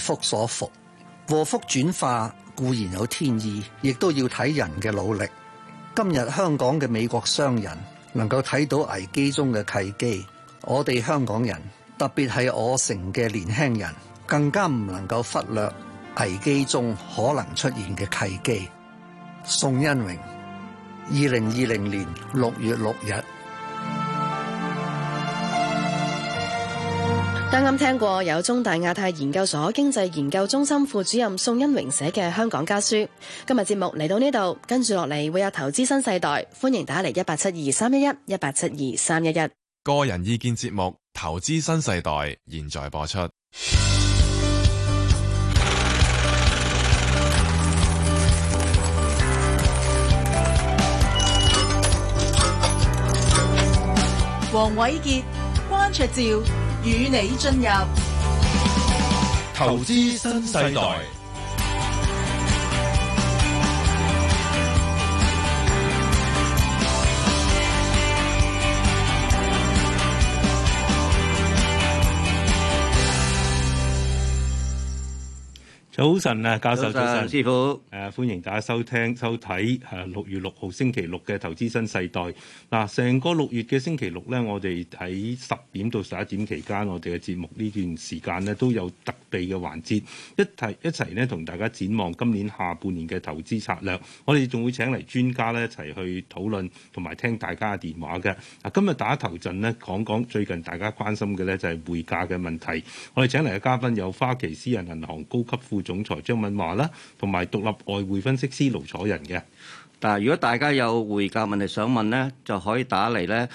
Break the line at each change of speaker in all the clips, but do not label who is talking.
福所伏，禍福轉化固然有天意，亦都要睇人嘅努力。今日香港嘅美國商人能夠睇到危機中嘅契機，我哋香港人，特別係我城嘅年輕人，更加唔能夠忽略危機中可能出現嘅契機。宋恩榮，2020年6月6日。
啱啱聽過有中大亞太研究所經濟研究中心副主任宋恩榮寫嘅《香港家書》。今日節目嚟到呢度，跟住落嚟會有投資新世代，歡迎打嚟1872311，1872311。
個人意見節目《投資新世代》現在播出。
黃瑋傑、關焯照與你進入
投資新世代。
早晨啊，教授，早晨，
師傅，
歡迎大家收睇6月6號星期六嘅投資新世代。嗱，成個6月嘅星期六咧，我哋喺10點到11點期間，我哋嘅節目呢段時間咧都有特備嘅環節，一齊咧同大家展望今年下半年嘅投資策略。我哋仲會請嚟專家咧一齊去討論同埋聽大家嘅電話嘅。嗱，今日打頭陣咧講講最近大家關心嘅咧就係匯價嘅問題。我哋請嚟嘅嘉賓有花旗私人銀行高級副總裁張敏華啦，同埋獨立外匯分析師盧楚仁嘅。
但係如果大家有匯價問題想問咧，就可以打嚟咧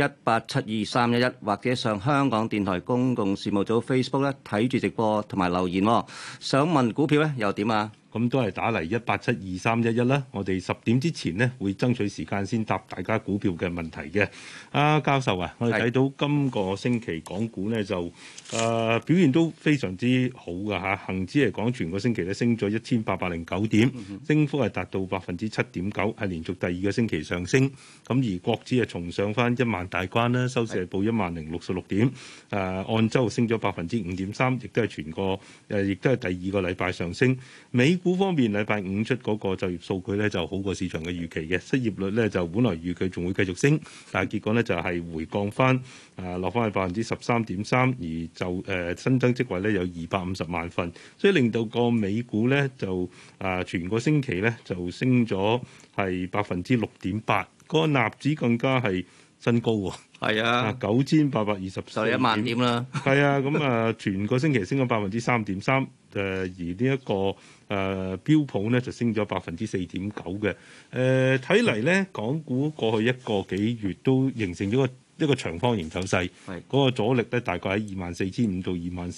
1872311，或者上香港電台公共事務組 Facebook 咧睇住直播同埋留言。想問股票咧又點啊？
咁都係打嚟1872311啦。我哋10點之前呢會爭取時間先答大家股票嘅問題嘅。教授啊，我哋睇到今個星期港股呢就表現都非常之好㗎嚇。恆指嚟講，全個星期咧升咗1809點，升幅係達到7.9%，係連續第二個星期上升。咁而國指係重上翻1萬大關啦，收市係報1066點。按周升咗5.3%，亦都係亦都係第二個禮拜上升。美股方面，禮拜五出嗰個就業數據咧就好過市場嘅預期嘅，失業率咧就本來預計仲會繼續升，但係結果咧就係回降翻，落翻去13.3%，而就新增職位咧有250萬份，所以令到個美股咧就全個星期咧就升咗係6.8%，個納指更加係新高喎。
係啊
，9824
就1萬點啦。
係啊，咁全個星期升咗3.3%，而呢一個標普咧就升咗4.9%嘅。睇嚟咧，港股過去一個幾月都形成咗一個長方形走勢，嗰個阻力咧大概喺24,500到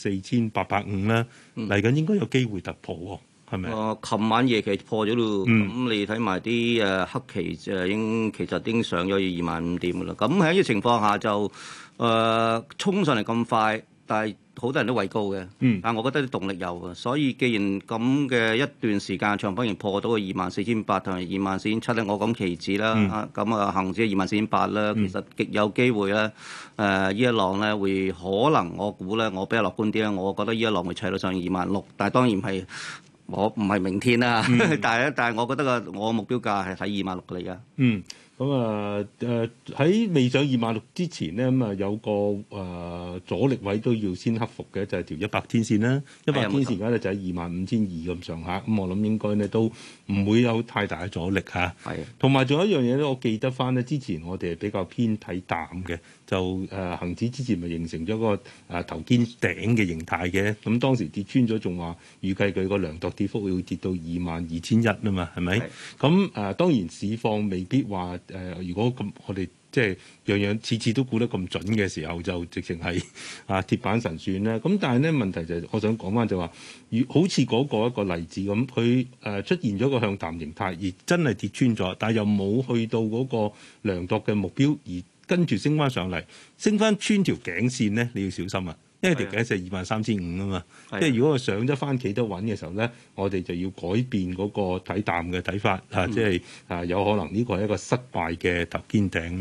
24,850啦。嚟緊應該有機會突破喎。係咪？
琴晚夜期破咗咯，咁你睇埋啲黑期其實已經上咗25,000點噶啦。咁喺呢個情況下就衝上嚟咁快，但係好多人都畏高嘅。但係我覺得啲動力有嘅，所以既然咁嘅一段時間長方形破到個24,800同埋24,700咧，我講期指啦，咁恆指24,800啦，其實極有機會咧。呢一浪咧會可能我估咧，我比較樂觀啲咧，我覺得呢一浪會砌到上26,000，但係當然係。我唔係明天啦，但係我覺得我目標價係睇26,000嚟㗎。
咁喺未上26,000之前咧，咁有個阻力位都要先克服嘅，就係條100天線啦。100天線而家咧就喺25,200咁上下，咁我諗應該咧都唔會有太大嘅阻力嚇。係。同埋仲有一樣嘢咧，我記得翻咧，之前我哋係比較偏睇淡嘅，就恆指之前咪形成咗個頭肩頂嘅形態嘅，咁當時跌穿咗，仲話預計佢個量度跌幅會跌到22,100啊嘛，係咪？咁當然市況未必話如果咁我哋即係樣樣次次都估得咁準嘅時候，就直情係鐵板神算啦。咁但係咧問題就係，我想講翻就話，好似嗰個一個例子咁，佢出現咗個向淡形態，而真係跌穿咗，但係又冇去到嗰個量度嘅目標，而跟住升翻上嚟，升翻穿條頸線咧，你要小心啊！因為條頸線係23,500啊嘛，即係如果佢上咗翻企得穩嘅時候咧，我哋就要改變嗰個睇淡嘅睇法，即係有可能呢個係一個失敗嘅頭肩頂咯。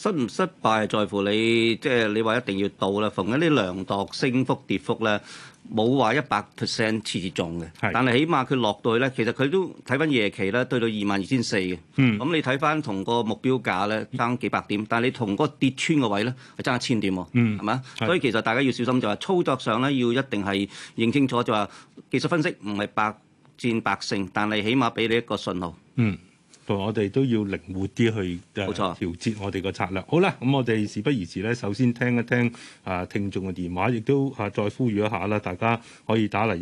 唔失敗係在乎你，即係你話一定要到啦。逢緊啲量度升幅跌幅咧，冇話100%次次中嘅，但係起碼佢落到去咧，其實佢都睇翻夜期咧，對到22,400嘅。咁你睇翻同個目標價咧爭幾百點，但係你同嗰個跌穿個位咧係爭1000點喎，係咪？所以其實大家要小心就係操作上咧，要一定係認清楚就話技術分析唔係百戰百勝，但係起碼俾你一個信號。
我哋都要靈活啲去調節我哋個策略。好啦，咁我哋事不宜遲咧，首先聽一聽聽眾嘅電話，亦都再呼籲一下啦，大家可以打嚟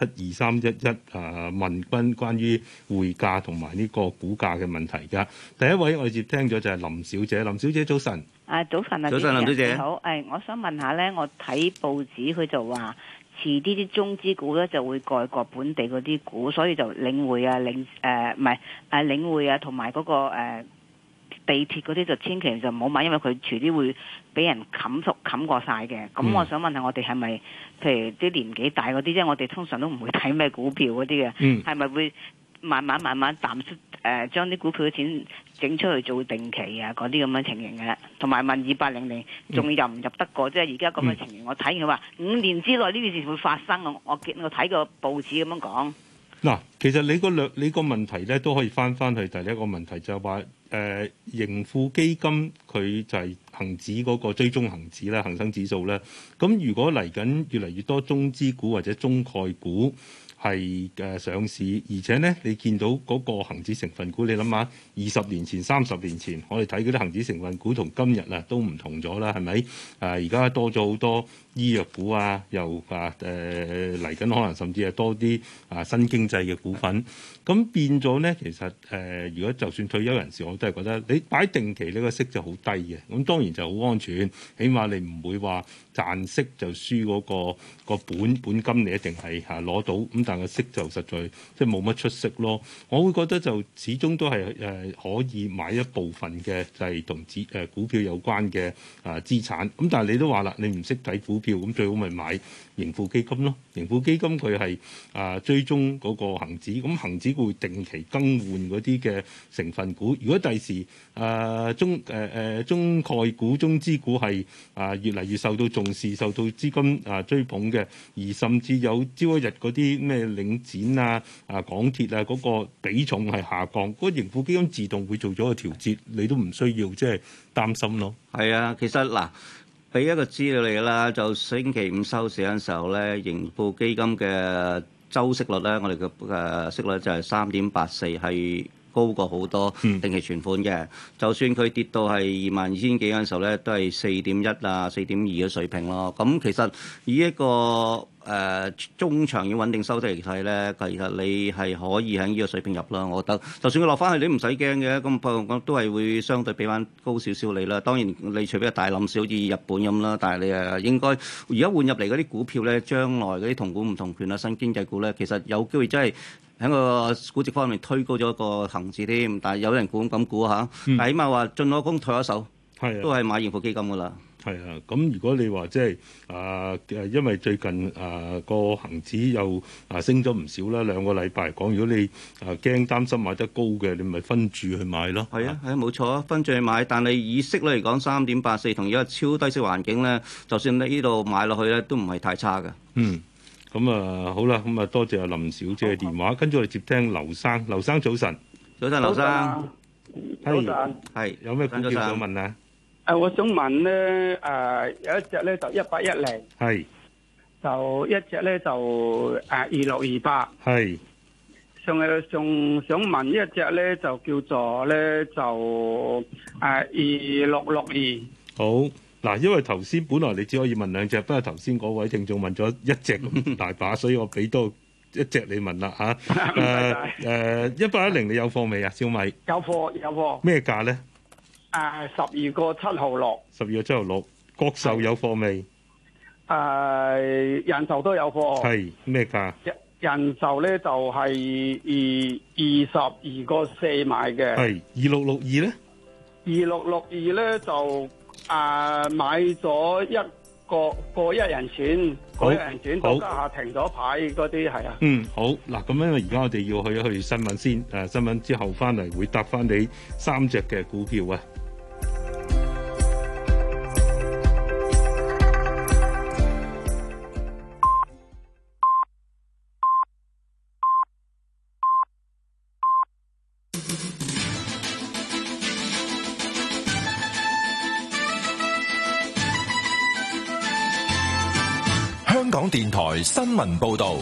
1872311問關於匯價同埋呢個股價嘅問題㗎。第一位我哋接聽咗就係林小姐，林小姐早晨。
早晨啊，
早晨林小姐。
好，我想問下咧，我睇報紙佢就話，遲啲啲中資股咧就會蓋過本地嗰啲股，所以就領匯啊、領匯啊，同埋嗰個地鐵嗰啲就千祈就唔好買，因為佢遲啲會俾人冚過晒嘅。咁我想問下我哋係咪，譬如啲年紀大嗰啲，即係我哋通常都唔會睇咩股票嗰啲嘅，係咪會慢慢淡出將啲股票嘅錢整出去做定期啊嗰啲咁嘅情形嘅，同埋問2800仲入唔入得過？即係而家咁嘅情形，我睇佢話5年之內呢件事會發生啊！我睇個報紙咁樣講。
嗱，其實你個問題咧都可以翻去第一個問題，就係話盈富基金佢就係恒指嗰個追蹤恒指啦，恒生指數咧。咁如果嚟緊越嚟越多中資股或者中概股係上市，而且咧你見到嗰個恆指成分股，你諗下20年前、30年前，我哋睇嗰啲恒指成分股同今日啊都唔同咗啦，係咪？而家多咗好多醫藥股啊，又嚟緊可能甚至係多啲新經濟嘅股份，咁變咗咧，其實如果就算退休人士，我都係覺得你擺定期呢個息就好低嘅，咁當然就好安全，起碼你唔會話賺息就輸嗰個本金，你一定係攞到，咁但係個息就實在即係冇乜出息咯。我會覺得就始終都係可以買一部分嘅就係同股票有關嘅資產，咁但係你都話啦，你唔識睇股票，咁最好咪買盈富基金咯。盈富基金佢係追蹤嗰個恆指，咁恆指會定期更換嗰啲嘅成分股。如果第時中概股、中資股係越嚟越受到重視、受到資金追捧嘅，而甚至有朝一日嗰啲咩領展港鐵嗰個比重係下降，嗰個盈富基金自動會做咗個調節，你都唔需要即係擔心咯。
係啊，其實嗱，俾一個資料你啦，就星期五收市嘅時候咧，盈富基金嘅周息率咧，我哋嘅息率就係3.84，係高過好多定期存款嘅。就算佢跌到係22,000幾嗰陣時候咧，都係4.1啊、4.2嘅水平咯。咁其實以一個中長遠穩定收息嚟睇咧，其實你係可以喺呢個水平入啦。我覺得，就算佢落翻去，你唔使驚嘅。咁不過我都係會相對俾翻高少少你啦。當然你除非係大冧少，好似日本咁啦。但係你應該而家換入嚟嗰啲股票咧，將來嗰啲同股唔同權啊、新經濟股咧，其實有機會真係喺個估值方面推高咗個恆指添。但係有人咁估下，但係起碼話進可攻退可守，都係買盈富基金噶啦。
係啊，咁如果你話即係因為最近個恆指又升咗唔少啦，2個禮拜嚟講，如果你擔心買得高嘅，你咪分注去買咯。係啊，
冇錯啊，分注去買。但係以息率嚟講，3.84同而家超低息環境咧，就算你呢度買落去咧，都唔係太差嘅。
咁好啦，咁多謝阿林小姐嘅電話，跟住我哋接聽劉生。劉生早晨。
早晨，劉生。
早晨。
係有咩股票想問啊？
我想問咧，有一隻咧就1810，
係，
就一隻咧就2628，
係。
仲想問一隻咧就叫做咧就2662。
好，嗱，因為頭先本來你只可以問兩隻，不過頭先嗰位聽眾問咗一隻咁大把，所以我俾多一隻你問啦嚇。1810你有貨未啊？小米
有貨。
咩價咧
？12個7毫6。
12個7毫6。國壽有貨未？
人壽都有貨。
係咩價？
人壽咧就係22個4買嘅。係
2662咧
？2662咧就買咗一個一人錢，個一人錢到家下停咗牌嗰啲係啊。
好嗱，咁因為而家我哋要去新聞先，新聞之後翻嚟會答翻你3隻嘅股票啊。
港電台新聞報道。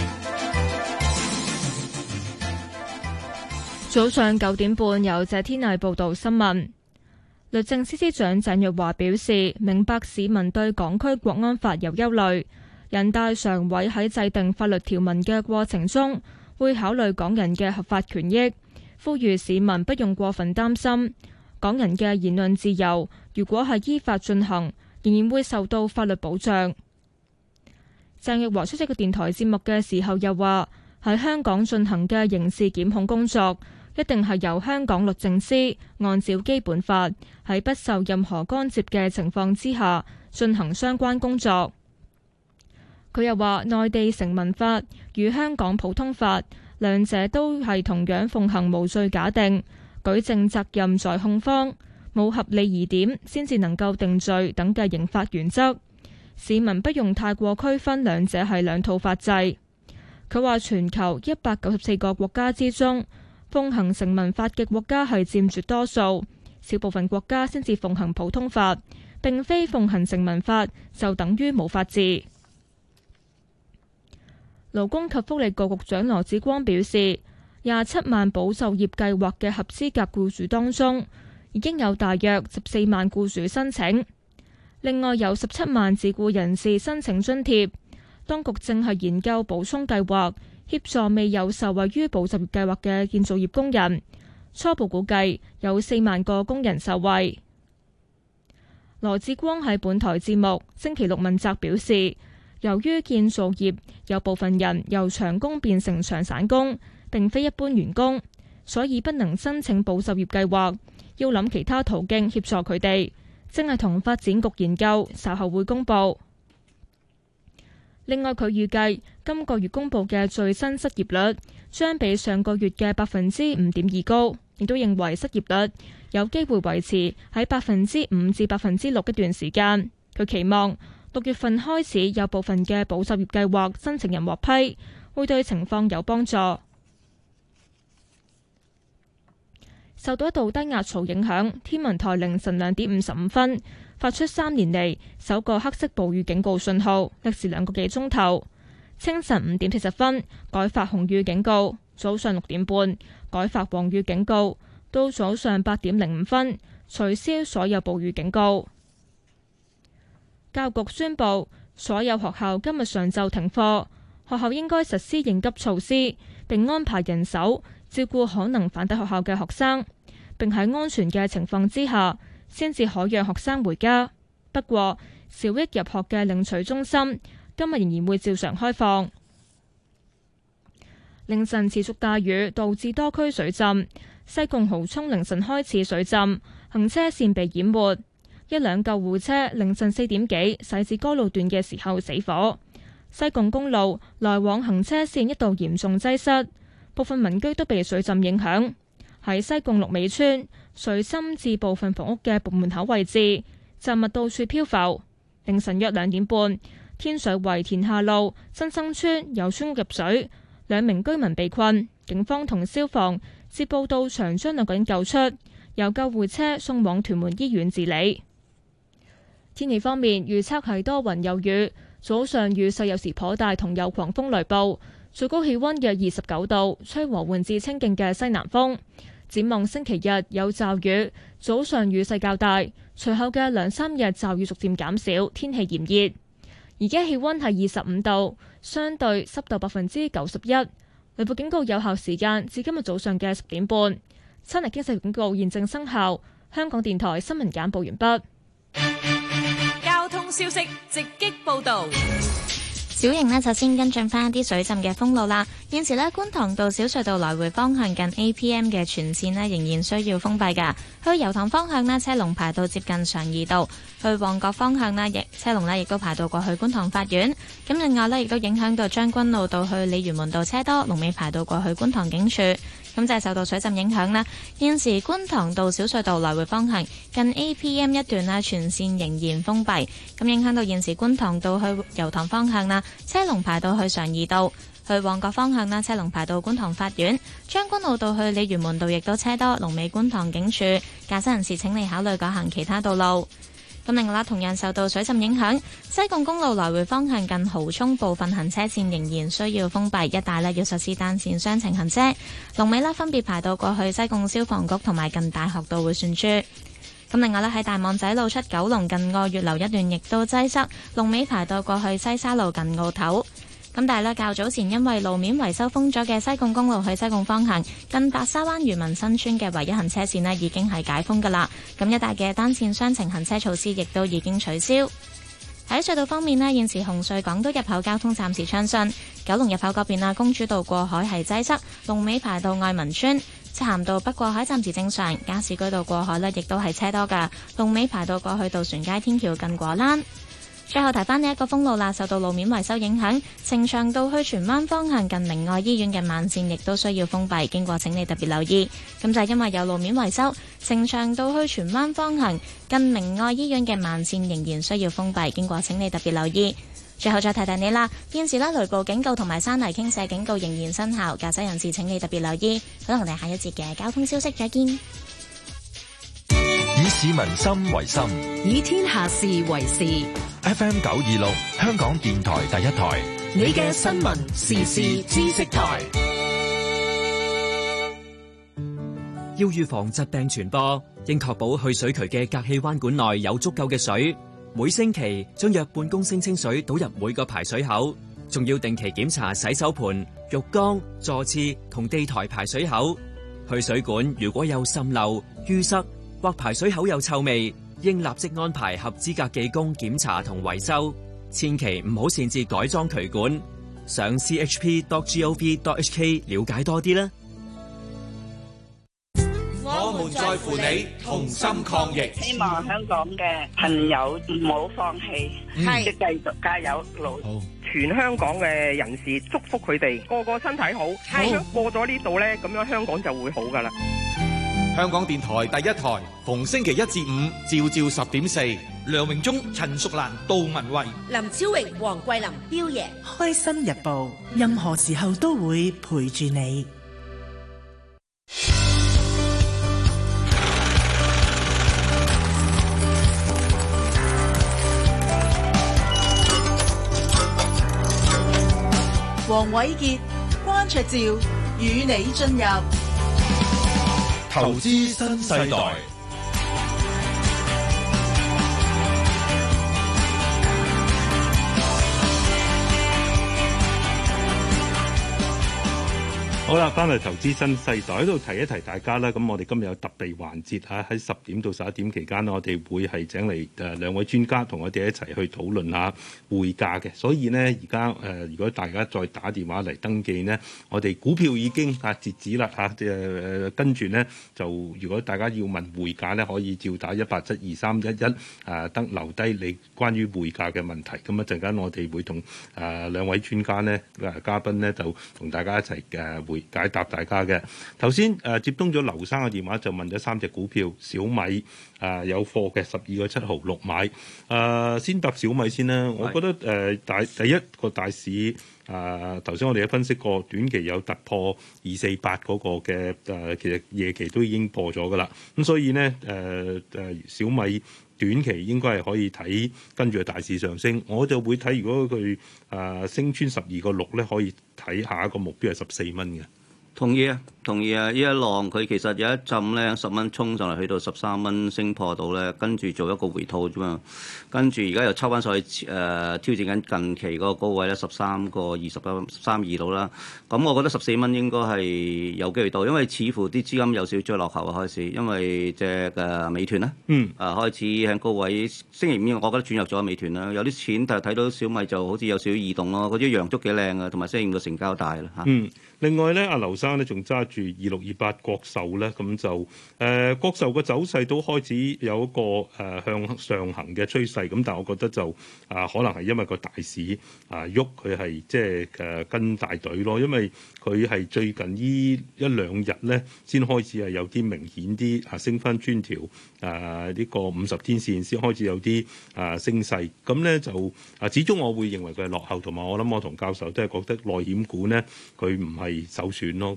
早上9點半，由謝天麗報道新聞。律政司司長鄭若驊表示，明白市民對港區國安法有憂慮，人大常委喺制定法律條文嘅過程中，會考慮港人嘅合法權益，呼籲市民不用過分擔心。港人嘅言論自由，如果係依法進行，仍然會受到法律保障。鄭若驊出席個電台節目嘅時候又話，喺香港進行嘅刑事檢控工作，一定係由香港律政司按照基本法喺不受任何干涉嘅情況之下進行相關工作。佢又話，內地成文法與香港普通法兩者都係同樣奉行無罪假定，舉證責任在控方，冇合理疑點先至能夠定罪等嘅刑法原則。市民不用太過區分兩者係兩套法制。佢話全球194個國家之中，奉行成文法嘅國家係佔絕多數，少部分國家先至奉行普通法，並非奉行成文法就等於冇法治。勞工及福利局局長羅致光表示，27萬保就業計劃嘅合資格僱主當中，已經有大約14萬僱主申請，另外有17萬自僱人士申請津貼。當局正係研究補充計劃，協助未有受惠於保就業計劃嘅建造業工人。初步估計有4萬個工人受惠。羅致光喺本台節目星期六問責表示，由於建造業有部分人由長工變成長散工，並非一般員工，所以不能申請保就業計劃，要諗其他途徑協助佢哋。正係同發展局研究，稍後會公佈。另外，佢預計今個月公佈嘅最新失業率將比上個月嘅5.2%高，亦都認為失業率有機會維持喺5%至6%一段時間。佢期望6月份開始有部分嘅保就業計劃申請人獲批，會對情況有幫助。受到一道低壓槽影響，天文台凌晨2點55分發出3年嚟首個黑色暴雨警告信號，歷時2個幾鐘頭。清晨5點40分改發紅雨警告，早上6點半改發黃雨警告，到早上8點05分取消所有暴雨警告。教育局宣布，所有學校今日上晝停課，學校應該實施應急措施，並安排人手照顧可能返抵學校嘅學生，並喺安全嘅情況之下，先至可讓學生回家。不過，小一入學嘅領取中心今日仍然會照常開放。凌晨持續大雨導致多區水浸，西貢蠔涌凌晨開始水浸，行車線被淹沒。一輛救護車凌晨4點幾駛至該路段嘅時候死火。西貢公路來往行車線一度嚴重擠塞，部分民居都被水浸影響。喺西貢綠尾村，水深至部分房屋嘅門口位置，雜物到處漂浮。凌晨約2點半，天水圍田下路新生村有村屋入水，2名居民被困，警方同消防接報到場將2個人救出，由救護車送往屯門醫院治理。天氣方面，預測係多雲有雨，早上雨勢有時頗大，同有狂風雷暴，最高氣溫約29度，吹和緩至清勁嘅西南風。展望星期日有驟雨，早上雨勢較大，隨後嘅2-3日驟雨逐漸減少，天氣炎熱。而家氣溫係25度，相對濕度91%。雷暴警告有效時間至今日早上嘅10點半。7日經濟警告現正生效。香港電台新聞簡報完畢。
交通消息直擊報道。
小型呢，就先跟進翻一啲水浸嘅封路啦。現時呢，觀塘道小隧道來回方向近 APM 嘅全線呢，仍然需要封閉㗎。去油塘方向呢，車龍排到接近常怡道；去旺角方向呢，車龍呢亦都排到過去觀塘法院。咁另外呢，亦都影響到將軍澳道去鯉魚門道車多，龍尾排到過去觀塘警署。咁就係受到水浸影響啦。現時觀塘道小隧道來回方向近 APM 一段啦，全線仍然封閉。咁影響到現時觀塘道去油塘方向啦，車龍排到去常怡道；去旺角方向啦，車龍排到觀塘法院。將軍澳道去鯉魚門道亦都車多，龍尾觀塘警署。駕駛人士請你考慮改行其他道路。咁咁另外啦，同樣受到水浸影響，西貢公路來回方向近蠔涌部分行車線仍然需要封閉，一帶呢要實施單線雙程行車。龍尾呢分別排到過去西貢消防局同埋近大學道迴旋處。咁另外呢，喺大網仔路出九龍近愛月樓一段亦都擠塞，龍尾排到過去西沙路近澳頭。咁但係呢，較早前因為路面維修封咗嘅西貢公路去西貢方向近白沙灣漁民新村嘅唯一行車線呢已經係解封㗎啦。咁一帶嘅單線雙程行車措施亦都已經取消。喺隧道方面呢，現時紅隧港島入口交通暫時暢順，九龍入口嗰邊公主道過海係擠塞，龍尾排到愛民村。漆咸道北過海暫時正常，加士居道過海呢亦都係車多㗎，龍尾排到過去渡船街天橋近果欄。最後提翻呢一個封路啦，受到路面維修影響，呈祥道去荃灣方向近明愛醫院嘅慢線亦都需要封閉，經過請你特別留意。咁就係因為有路面維修，呈祥道去荃灣方向近明愛醫院嘅慢線仍然需要封閉，經過請你特別留意。最後再提提你啦，現時雷暴警告同埋山泥傾瀉警告仍然生效，駕駛人士請你特別留意。好啦，我哋下一節嘅交通消息再見。
以市民心為心，
以天下事為事。
FM 926，香港電台第一台，
你嘅新聞時事知識台。
要預防疾病傳播，應確保去水渠嘅隔氣彎管內有足夠嘅水。每星期將約半公升清水倒入每個排水口，仲要定期檢查洗手盆、浴缸、座廁同地台排水口。去水管如果有滲漏、淤塞或排水口有臭味，應立即安排合資格技工檢查同維修，千祈唔好擅自改裝渠管。上 chp.gov.hk 了解多啲啦。
我們在乎你，同心抗疫。
希望香港嘅朋友唔好放棄，即係繼續加油努力。
全香港嘅人士祝福佢哋個個身體好，咁過咗呢度呢，咁樣香港就會好噶啦。
香港電台第一台，逢星期一至五，朝朝10.4。
梁榮忠、陳淑蘭、杜文慧、
林超榮、黃桂林、彪爺，
開心日報，任何時候都會陪住你。
黃瑋傑、關焯照與你進入
投資新世代。
好啦，翻嚟投資新世代喺度提一提大家啦。咁我哋今日有特別環節嚇，喺10點到11點期間，我哋會係請嚟兩位專家同我哋一齊去討論下匯價嘅。所以呢，而家如果大家再打電話嚟登記呢，我哋股票已經截止啦嚇。跟住呢，就如果大家要問匯價呢，可以照打1872311得留低你關於匯價嘅問題。咁一陣間我哋會同兩位專家呢嘉賓呢，就同大家一齊解答大家嘅。頭先接通咗劉生嘅電話，就問咗3隻股票，小米有貨嘅12個7毫6買。先答小米先啦。我覺得第一個大市頭先我哋都分析過，短期有突破248嗰個嘅其實夜期都已經破咗噶啦。咁所以呢，小米短期應該係可以睇跟住大市上升。我就會睇如果佢升穿12個6咧，可以睇下一個目標係14蚊嘅。
同意啊！呢一浪佢其實有一陣咧10蚊衝上嚟，去到13蚊升破到咧，跟住做一個回吐啫嘛。跟住而家又抽翻上去挑戰緊近期嗰個高位咧13個32度啦。咁我覺得14蚊應該係有機會到，因為似乎啲資金有少少追落後啊開始，因為隻美團啦，開始喺高位。星期五我覺得轉入咗美團啦，有啲錢但係睇到小米就好似有少少異動咯，嗰啲陽燭幾靚啊，同埋星期五嘅成交大啦嚇。
另外咧，阿劉生咧仲揸住2628國壽咧，咁就國壽嘅走勢都開始有一個向上行嘅趨勢，咁但係我覺得就可能係因為個大市喐，佢係即係跟大隊咯，因為佢係最近呢一兩日咧先開始係有啲明顯啲升翻穿條呢個50天線，先開始有啲升勢，咁咧就始終我會認為佢係落後，同埋我諗我同教授都係覺得內險股咧佢唔係首選咯。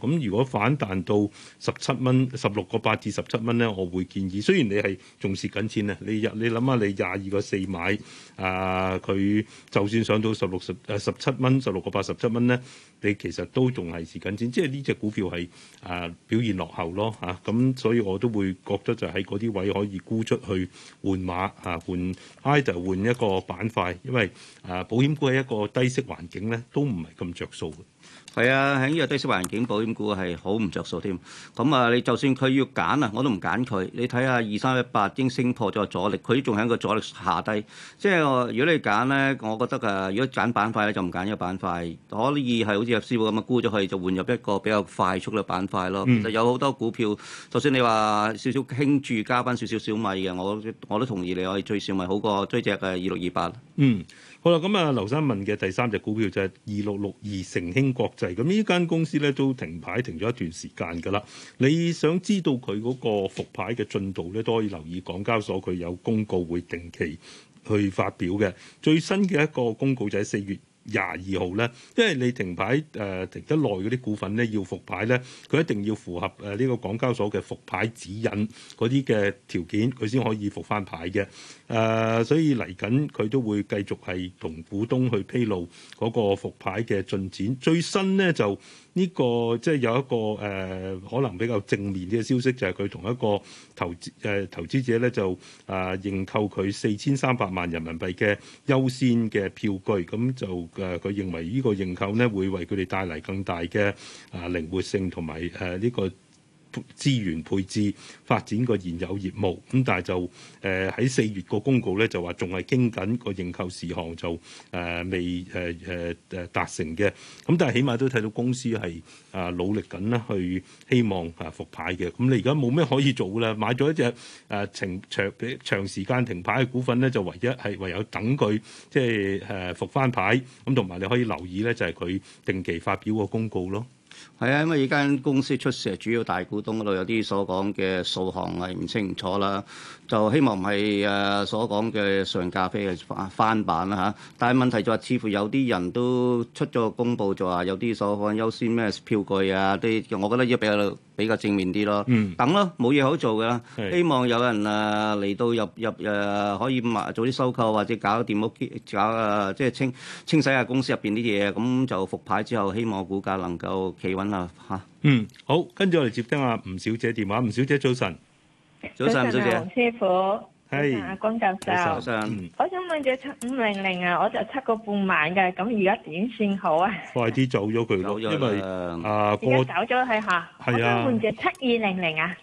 咁如果反彈到17蚊、16.8至17蚊咧，我會建議。雖然你係仲蝕緊錢啊，你諗下你22.4買佢就算上到17蚊、16.8、17蚊咧，你其實都仲係蝕緊錢。即係呢隻股票係表現落後咯嚇。咁所以我都會覺得就喺嗰啲位可以沽出去換馬換 either 換一個板塊，因為保險股喺一個低息環境咧都唔係咁着數嘅。
係啊，喺呢個低息環境，保險股係好唔着數添。咁你就算佢要揀我都唔揀佢。你睇下2318已經升破咗阻力，佢仲喺個阻力下低。即係如果你揀咧，我覺得如果揀板塊咧，就唔揀呢個板塊，可以係好似阿師傅咁沽咗佢，就換入一個比較快速嘅板塊咯。其實有好多股票，就算你話少少輕注加翻少少小米嘅，我都同意你可以追小米好過追隻2628。
好啦，咁劉生問嘅第三隻股票就係2662成興國際，咁呢間公司咧都停牌停咗一段時間㗎啦。你想知道佢嗰個復牌嘅進度咧，都可以留意港交所佢有公告會定期去發表嘅。最新嘅一個公告就喺4月22號咧，因為你停牌停得耐嗰啲股份咧要復牌咧，佢一定要符合呢個港交所嘅復牌指引嗰啲嘅條件，佢先可以復翻牌嘅。所以嚟緊佢都會繼續係同股東去披露嗰個復牌嘅進展。最新呢，就呢個即係有一個可能比較正面啲嘅消息，就係佢同一個投資者咧就認購佢4300萬人民幣嘅優先嘅票據，咁就佢認為呢個認購呢會為佢哋帶嚟更大嘅靈活性同埋呢個資源配置發展個現有業務。咁但係就喺4月個公告咧就話仲係傾緊個認購事項，就未達成嘅。咁但係起碼都睇到公司係努力緊啦，去希望復牌嘅。咁你而家冇咩可以做啦，買咗一隻長時間停牌嘅股份咧，就唯有等佢即係復翻牌。咁同埋你可以留意咧，就係佢定期發表個公告咯。
係啊，因為呢間公司出事，主要大股東嗰度有啲所講嘅數項係唔清唔楚啦，就希望唔係所講嘅上咖啡嘅翻版啦嚇。但係問題就係似乎有啲人都出咗個公佈，就話有啲所講優先咩票據啊啲，我覺得要比較正面啲咯。等咯，冇嘢好做㗎啦。希望有人嚟到入可以做啲收購或者搞掂屋搞即係清洗下公司入邊啲嘢，咁就復牌之後，希望股價能夠企穩啦嚇。
好，跟住我哋接聽下吳小姐電話。吳小姐早晨。
早晨，吳小姐。
黃師傅。係。阿關教授。
早晨。
我想問隻7500我就7個半買嘅，咁而家點算好啊？
快啲走咗佢咯，因為
而家走咗係嚇。係啊。我想換隻7200啊。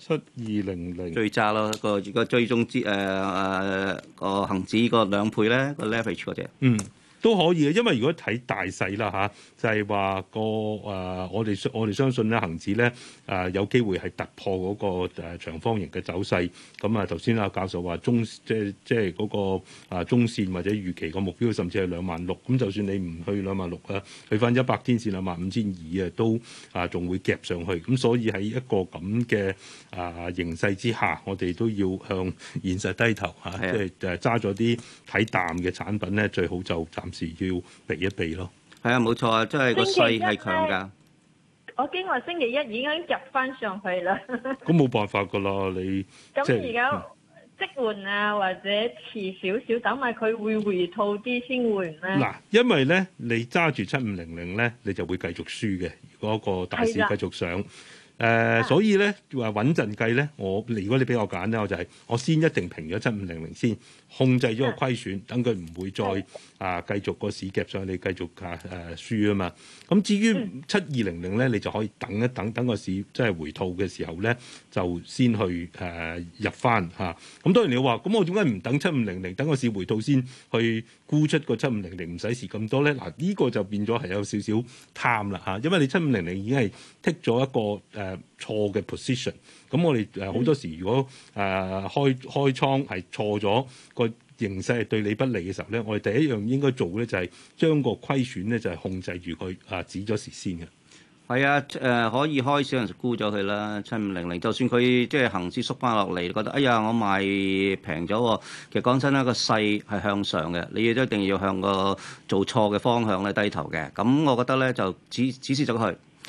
7200
最渣咯，個追蹤之個恆指個2倍咧，個 leverage 嗰隻。
都可以嘅，因為如果睇大勢啦嚇，就係話我哋相信咧，恆指咧有機會係突破嗰個長方形嘅走勢。咁頭先阿教授話即係嗰個中線或者預期個目標，甚至係26000。咁就算你唔去26000啊，去翻100天線25200啊，都仲會夾上去。咁所以喺一個咁嘅形勢之下，我哋都要向現實低頭嚇，即係揸咗啲睇淡嘅產品咧，最好就暫時要避一避咯。
係啊，冇錯啊，即係個勢係強㗎。
我經過星期一已經入翻上去啦。
咁冇辦法㗎啦，你
咁而家即換啊，或者遲少少等埋佢會回吐啲先換咧。嗱，
因為咧你揸住7500咧，你就會繼續輸嘅。如果個大市繼續上。所以咧話穩陣計咧，如果你俾我揀咧，我就係我先一定平咗7500先，控制咗個虧損，等佢唔會再繼續個市夾上去，你繼續輸啊嘛。咁至於7200咧，你就可以等一等，等個市即係回吐嘅時候咧，就先去入翻嚇。咁當然你話，咁我點解唔等7500，等個市回吐先去沽出個7500，唔使蝕咁多咧？嗱，呢個就變咗係有少少貪啦嚇，因為你7500已經係剔咗一個錯嘅 position， 咁我哋好多時如果開倉係錯咗，個形勢係對你不利嘅時候咧，我哋第一樣應該做咧就係將個虧損咧就係控制住佢止咗蝕先嘅。
係啊，可以開少人沽咗佢啦，7500，就算佢即係恆指縮翻落嚟，覺得哎呀我賣平咗喎，其實講真啦，個勢係向上嘅，你亦都一定要向個做錯嘅方向咧低頭嘅。咁我覺得咧就指示咗佢。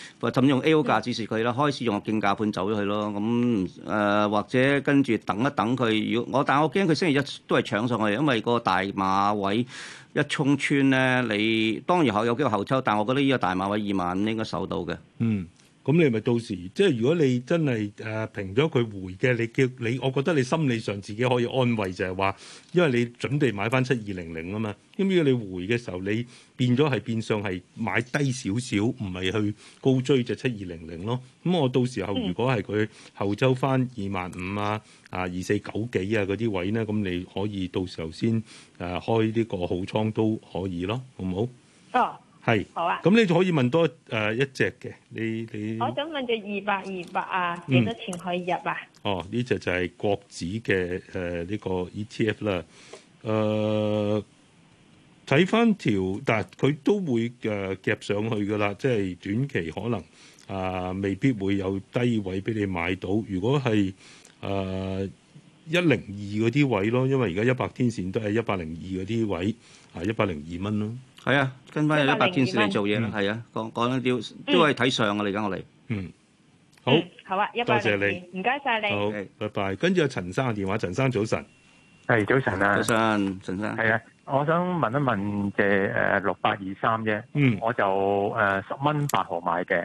或甚至用 A.O. 價指示佢啦，開始用個競價盤走咗去咯。咁或者跟住等一等佢，但我驚佢星期一都係搶上去，因為個大馬位一衝穿咧，你當然有機會後抽，但我覺得呢個大馬位2萬應該守到嘅。
咁你咪到時，即係如果你真係平咗佢回嘅，我覺得你心理上自己可以安慰，就係話，因為你準備買翻7200啊嘛。咁如果你回嘅時候，你變咗係變相係買低少少，唔係去高追就7200咯。咁我到時候如果係佢後周翻25000啊、2490幾啊嗰啲位咧，咁你可以到時候先開呢個好倉都可以咯，好唔好？
哦。
係，
好啊。
咁你就可以問多一隻嘅，你。
我想問隻200啊，幾多錢可以入啊？
哦，呢隻就係國指嘅呢個 ETF 啦。睇翻條，但係佢都會夾上去噶啦，即係短期可能未必會有低位俾你買到。如果係102嗰啲位咯，因為而家100天線都係102嗰啲位，102蚊咯。
係啊，跟翻有100天線嚟做嘢啦，係啊，講緊都係睇上啊，嚟緊我哋。
好，
好啊，102，
多謝你，
唔該晒你。
好，拜拜。跟住有陳生嘅電話，陳生早晨。
係早晨啊，
早晨，陳生。
係啊，我想問一問隻6823啫，我就10蚊8毫買嘅。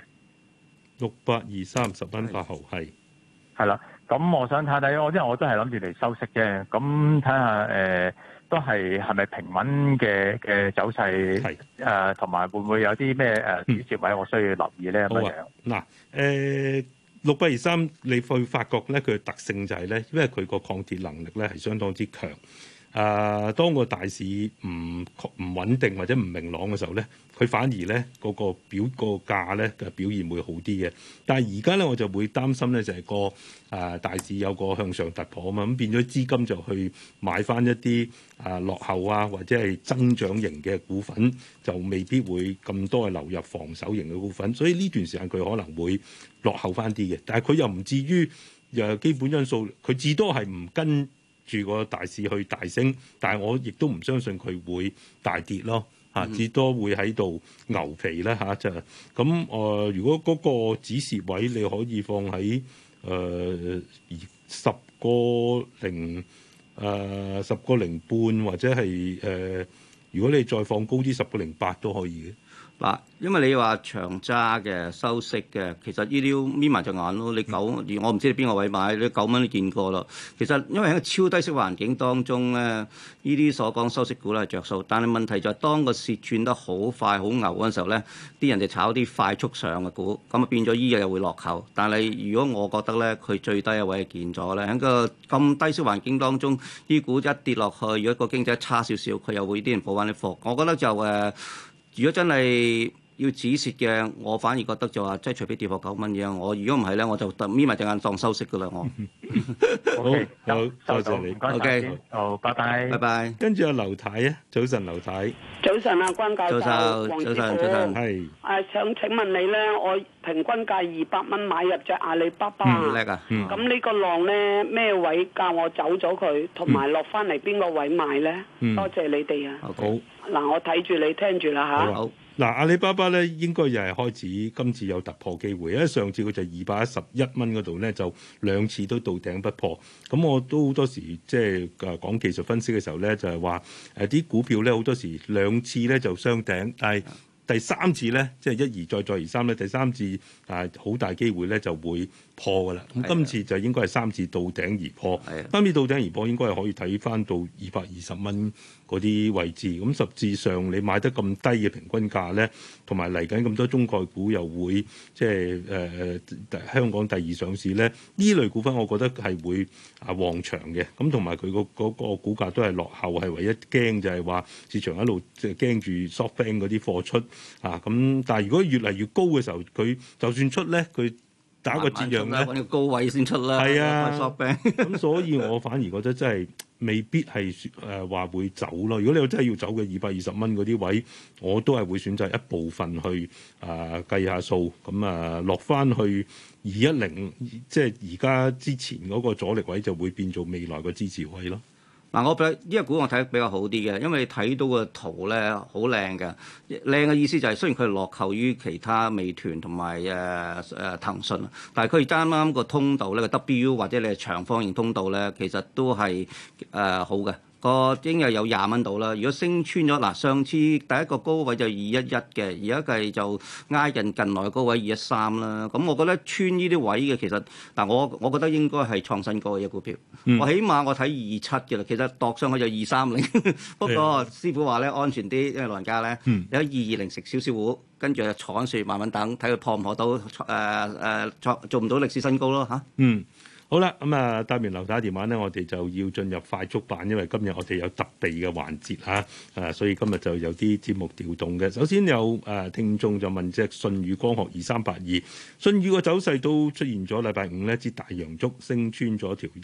6823 10蚊8毫係
啦，咁我想睇睇，因為我都係諗住嚟收息啫，咁睇下都係咪平穩嘅走勢？同埋會唔會有啲咩轉折位我需要留意咧？咁樣
嗱6823，你會發覺咧佢嘅特性就係咧，因為佢個抗跌能力咧係相當之強。當個大市唔穩定或者唔明朗嘅時候咧，佢反而咧個價咧嘅表現會好啲嘅。但係而家咧我就會擔心咧就係個大市有個向上突破啊嘛，咁變咗資金就去買翻一啲落後或者係增長型嘅股份，就未必會咁多係流入防守型嘅股份。所以呢段時間佢可能會落後翻啲嘅，但係佢又唔至於基本因素，佢至多係唔跟住個大市去大升，但係我亦都唔相信佢會大跌咯，至多會喺度牛皮啦就咁。如果嗰個止蝕位你可以放喺10個零半或者係如果你再放高啲10個零8都可以嘅。
嗱，因為你話長揸嘅收息嘅，其實呢啲眯埋隻眼咯。你我唔知你邊個位買，你9蚊都見過啦。其實因為喺個超低息環境當中咧，呢啲所講收息股咧係着數，但係問題就係當個市轉得好快好牛嗰陣時候咧，啲人就炒啲快速上嘅股，咁啊變咗依日又會落後。但係如果我覺得咧，佢最低嘅位係見咗咧，喺個咁低息環境當中，啲股一跌落去，如果個經濟差少少，佢又會啲人補翻啲貨。我覺得就如果真係要止蝕嘅，我反而覺得就話即係除非跌破9蚊嘅，我如果唔係咧，我就眯埋隻眼當收息噶啦，我。
好，多謝你。
OK，好，拜拜。
拜拜。
跟住有劉太啊，早晨，劉太。
早晨啊，關教授，黃師傅。
係。
想請問你咧，我平均價200蚊買入隻阿里巴巴。
叻啊！
咁呢個浪咧，咩位教我走咗佢，同埋落翻嚟邊個位買咧？多謝你哋啊。
好。
嗱，我睇住你聽住啦嚇。
好。嗱，阿里巴巴咧應該又係開始今次有突破機會，因為上次佢就211蚊嗰度咧就2次都到頂不破。咁我都好多時即係講技術分析嘅時候咧，就係話啲股票咧好多時2次咧就雙頂，但係第3次咧即係一而再再而三咧，第3次好大機會咧就會破㗎啦。咁今次就應該係3次到頂而破，3次到頂而破應該係可以睇翻到220蚊嗰啲位置。咁實際上你買得咁低嘅平均價咧，同埋嚟緊咁多中概股又會即係香港第2上市咧，呢類股份我覺得係會旺場嘅。咁同埋佢嗰個股價都係落後，係唯一驚就係話市場一路即係驚住 SoftBank 嗰啲貨出咁。但係如果越嚟越高嘅時候，佢就算出咧，佢打個折讓咧，
揾個高位先出啦。
係啊，咁所以我反而覺得真係未必係話會走咯。如果你真係要走嘅220蚊嗰啲位，我都係會選擇一部分去計下數，咁落翻去210，即係而家之前嗰個阻力位就會變做未來個支持位咯。
嗱，我覺得呢個股我睇得比較好啲嘅，因為你睇到個圖咧好靚嘅，靚嘅意思就係雖然佢係落後於其他美團同埋騰訊，但係佢啱啱個通道咧個 W 或者你係長方形通道咧，其實都係好嘅。個應該有20蚊到啦。如果升穿咗嗱，上次第一個高位就211嘅，而家計就挨近來嘅高位213啦。咁我覺得穿呢啲位嘅其實嗱，我覺得應該係創新高嘅股票。我起碼我睇27嘅啦，其實度上去就230。不過師傅話咧安全啲，因為老人家咧有220食少少糊，跟住就坐緊樹慢慢等，睇佢破唔破到做唔到歷史新高咯嚇。
好啦，咁啊，答完劉太電話咧，我哋就要進入快速版，因為今日我哋有特備嘅環節嚇，所以今日就有啲節目調動嘅。首先有聽眾就問隻舜宇光學2382，舜宇個走勢都出現咗禮拜五呢支大陽燭升穿咗條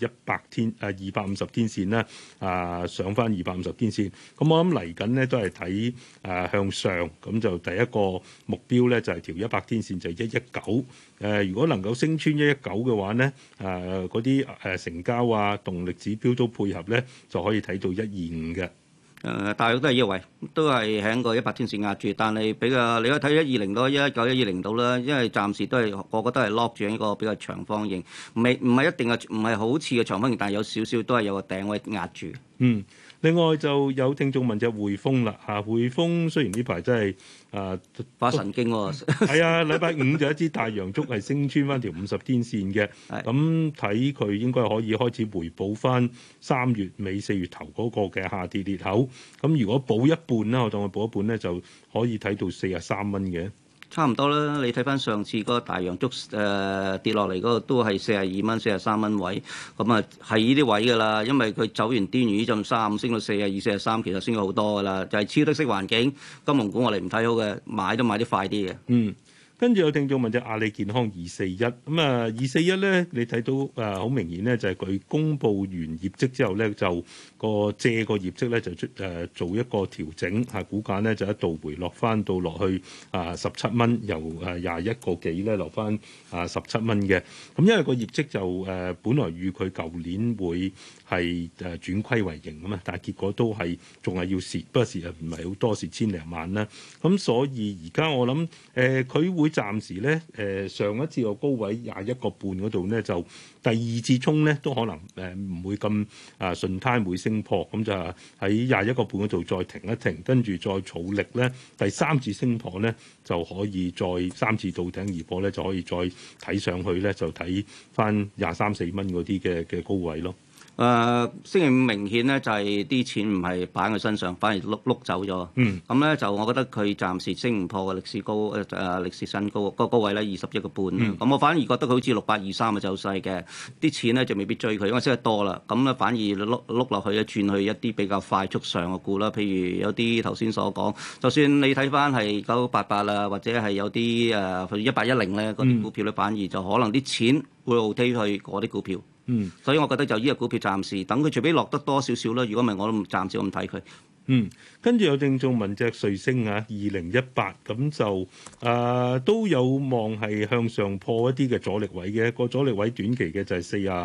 250天線啦，上翻250天線。咁我諗嚟緊呢都係睇向上，咁就第一個目標咧就係條100天線就係119。如果能夠升穿119嘅話咧，嗰啲成交啊、動力指標都配合咧，就可以睇到125嘅。
大約都係呢個位，都係喺個100天線壓住，但係比較你可以睇120到119、120到啦，因為暫時都係我覺得係 lock 住喺一個比較長方形，唔係一定係唔係好似嘅長方形，但係有少少都係有個頂位壓住。
另外就有聽眾問隻匯豐啦嚇，匯豐雖然呢排真係
發神經喎，
係啊，禮拜五就一支大陽燭係升穿翻條50天線嘅，咁睇佢應該可以開始回補翻3月尾4月頭嗰個嘅下跌裂口，咁如果補一半啦，我當佢補一半咧，就可以睇到43蚊嘅。
差唔多啦，你睇翻上次嗰個大陽燭跌落嚟嗰個都係42蚊、43蚊位，咁啊係呢啲位㗎啦，因為佢走完端完呢陣3升到42、43，其實升咗好多㗎啦，就係超低息環境，金融股我哋唔睇好嘅，買都買啲快啲嘅。
跟住有聽眾問隻阿里健康241，咁啊241咧，你睇到好明顯咧，就係佢公佈完業績之後咧，就借個業績咧就做一個調整，股價咧就一度回落翻到落去17蚊，由21個幾咧落翻17蚊嘅。咁因為個業績就本來預佢舊年會係轉虧為盈啊嘛，但係結果都係仲係要蝕，不過蝕又唔係好多，蝕千零萬啦。咁所以而家我諗佢會暫時咧上一次個高位21個半嗰度咧，就第二次衝咧都可能唔會咁順攤會升破，咁就喺21個半嗰度再停一停，跟住再儲力咧，第三次升破咧就可以再3次到頂而破咧，就可以再睇上去咧，就睇翻23、4蚊嗰啲嘅高位咯。
星期五明顯咧就係啲錢唔係擺喺佢身上，反而碌走咗。咁咧就我覺得佢暫時升唔破嘅歷史高歷史新高個高位咧21個半。咁我反而覺得佢好似6823嘅走勢嘅，啲錢咧就未必追佢，因為升得多啦。咁咧反而碌落去咧轉去一啲比較快速上嘅股啦，譬如有啲頭先所講，就算你睇翻係9988啦，或者係有啲1810咧嗰啲股票咧，反而就可能啲錢會倒推去嗰啲股票。所以我覺得就呢個股票暫時等佢，除非落得多少少啦。如果唔係，我都暫時我唔睇佢。
跟住有聽眾問隻瑞聲2018，咁就都有望係向上破一啲嘅阻力位嘅，個阻力位短期嘅就係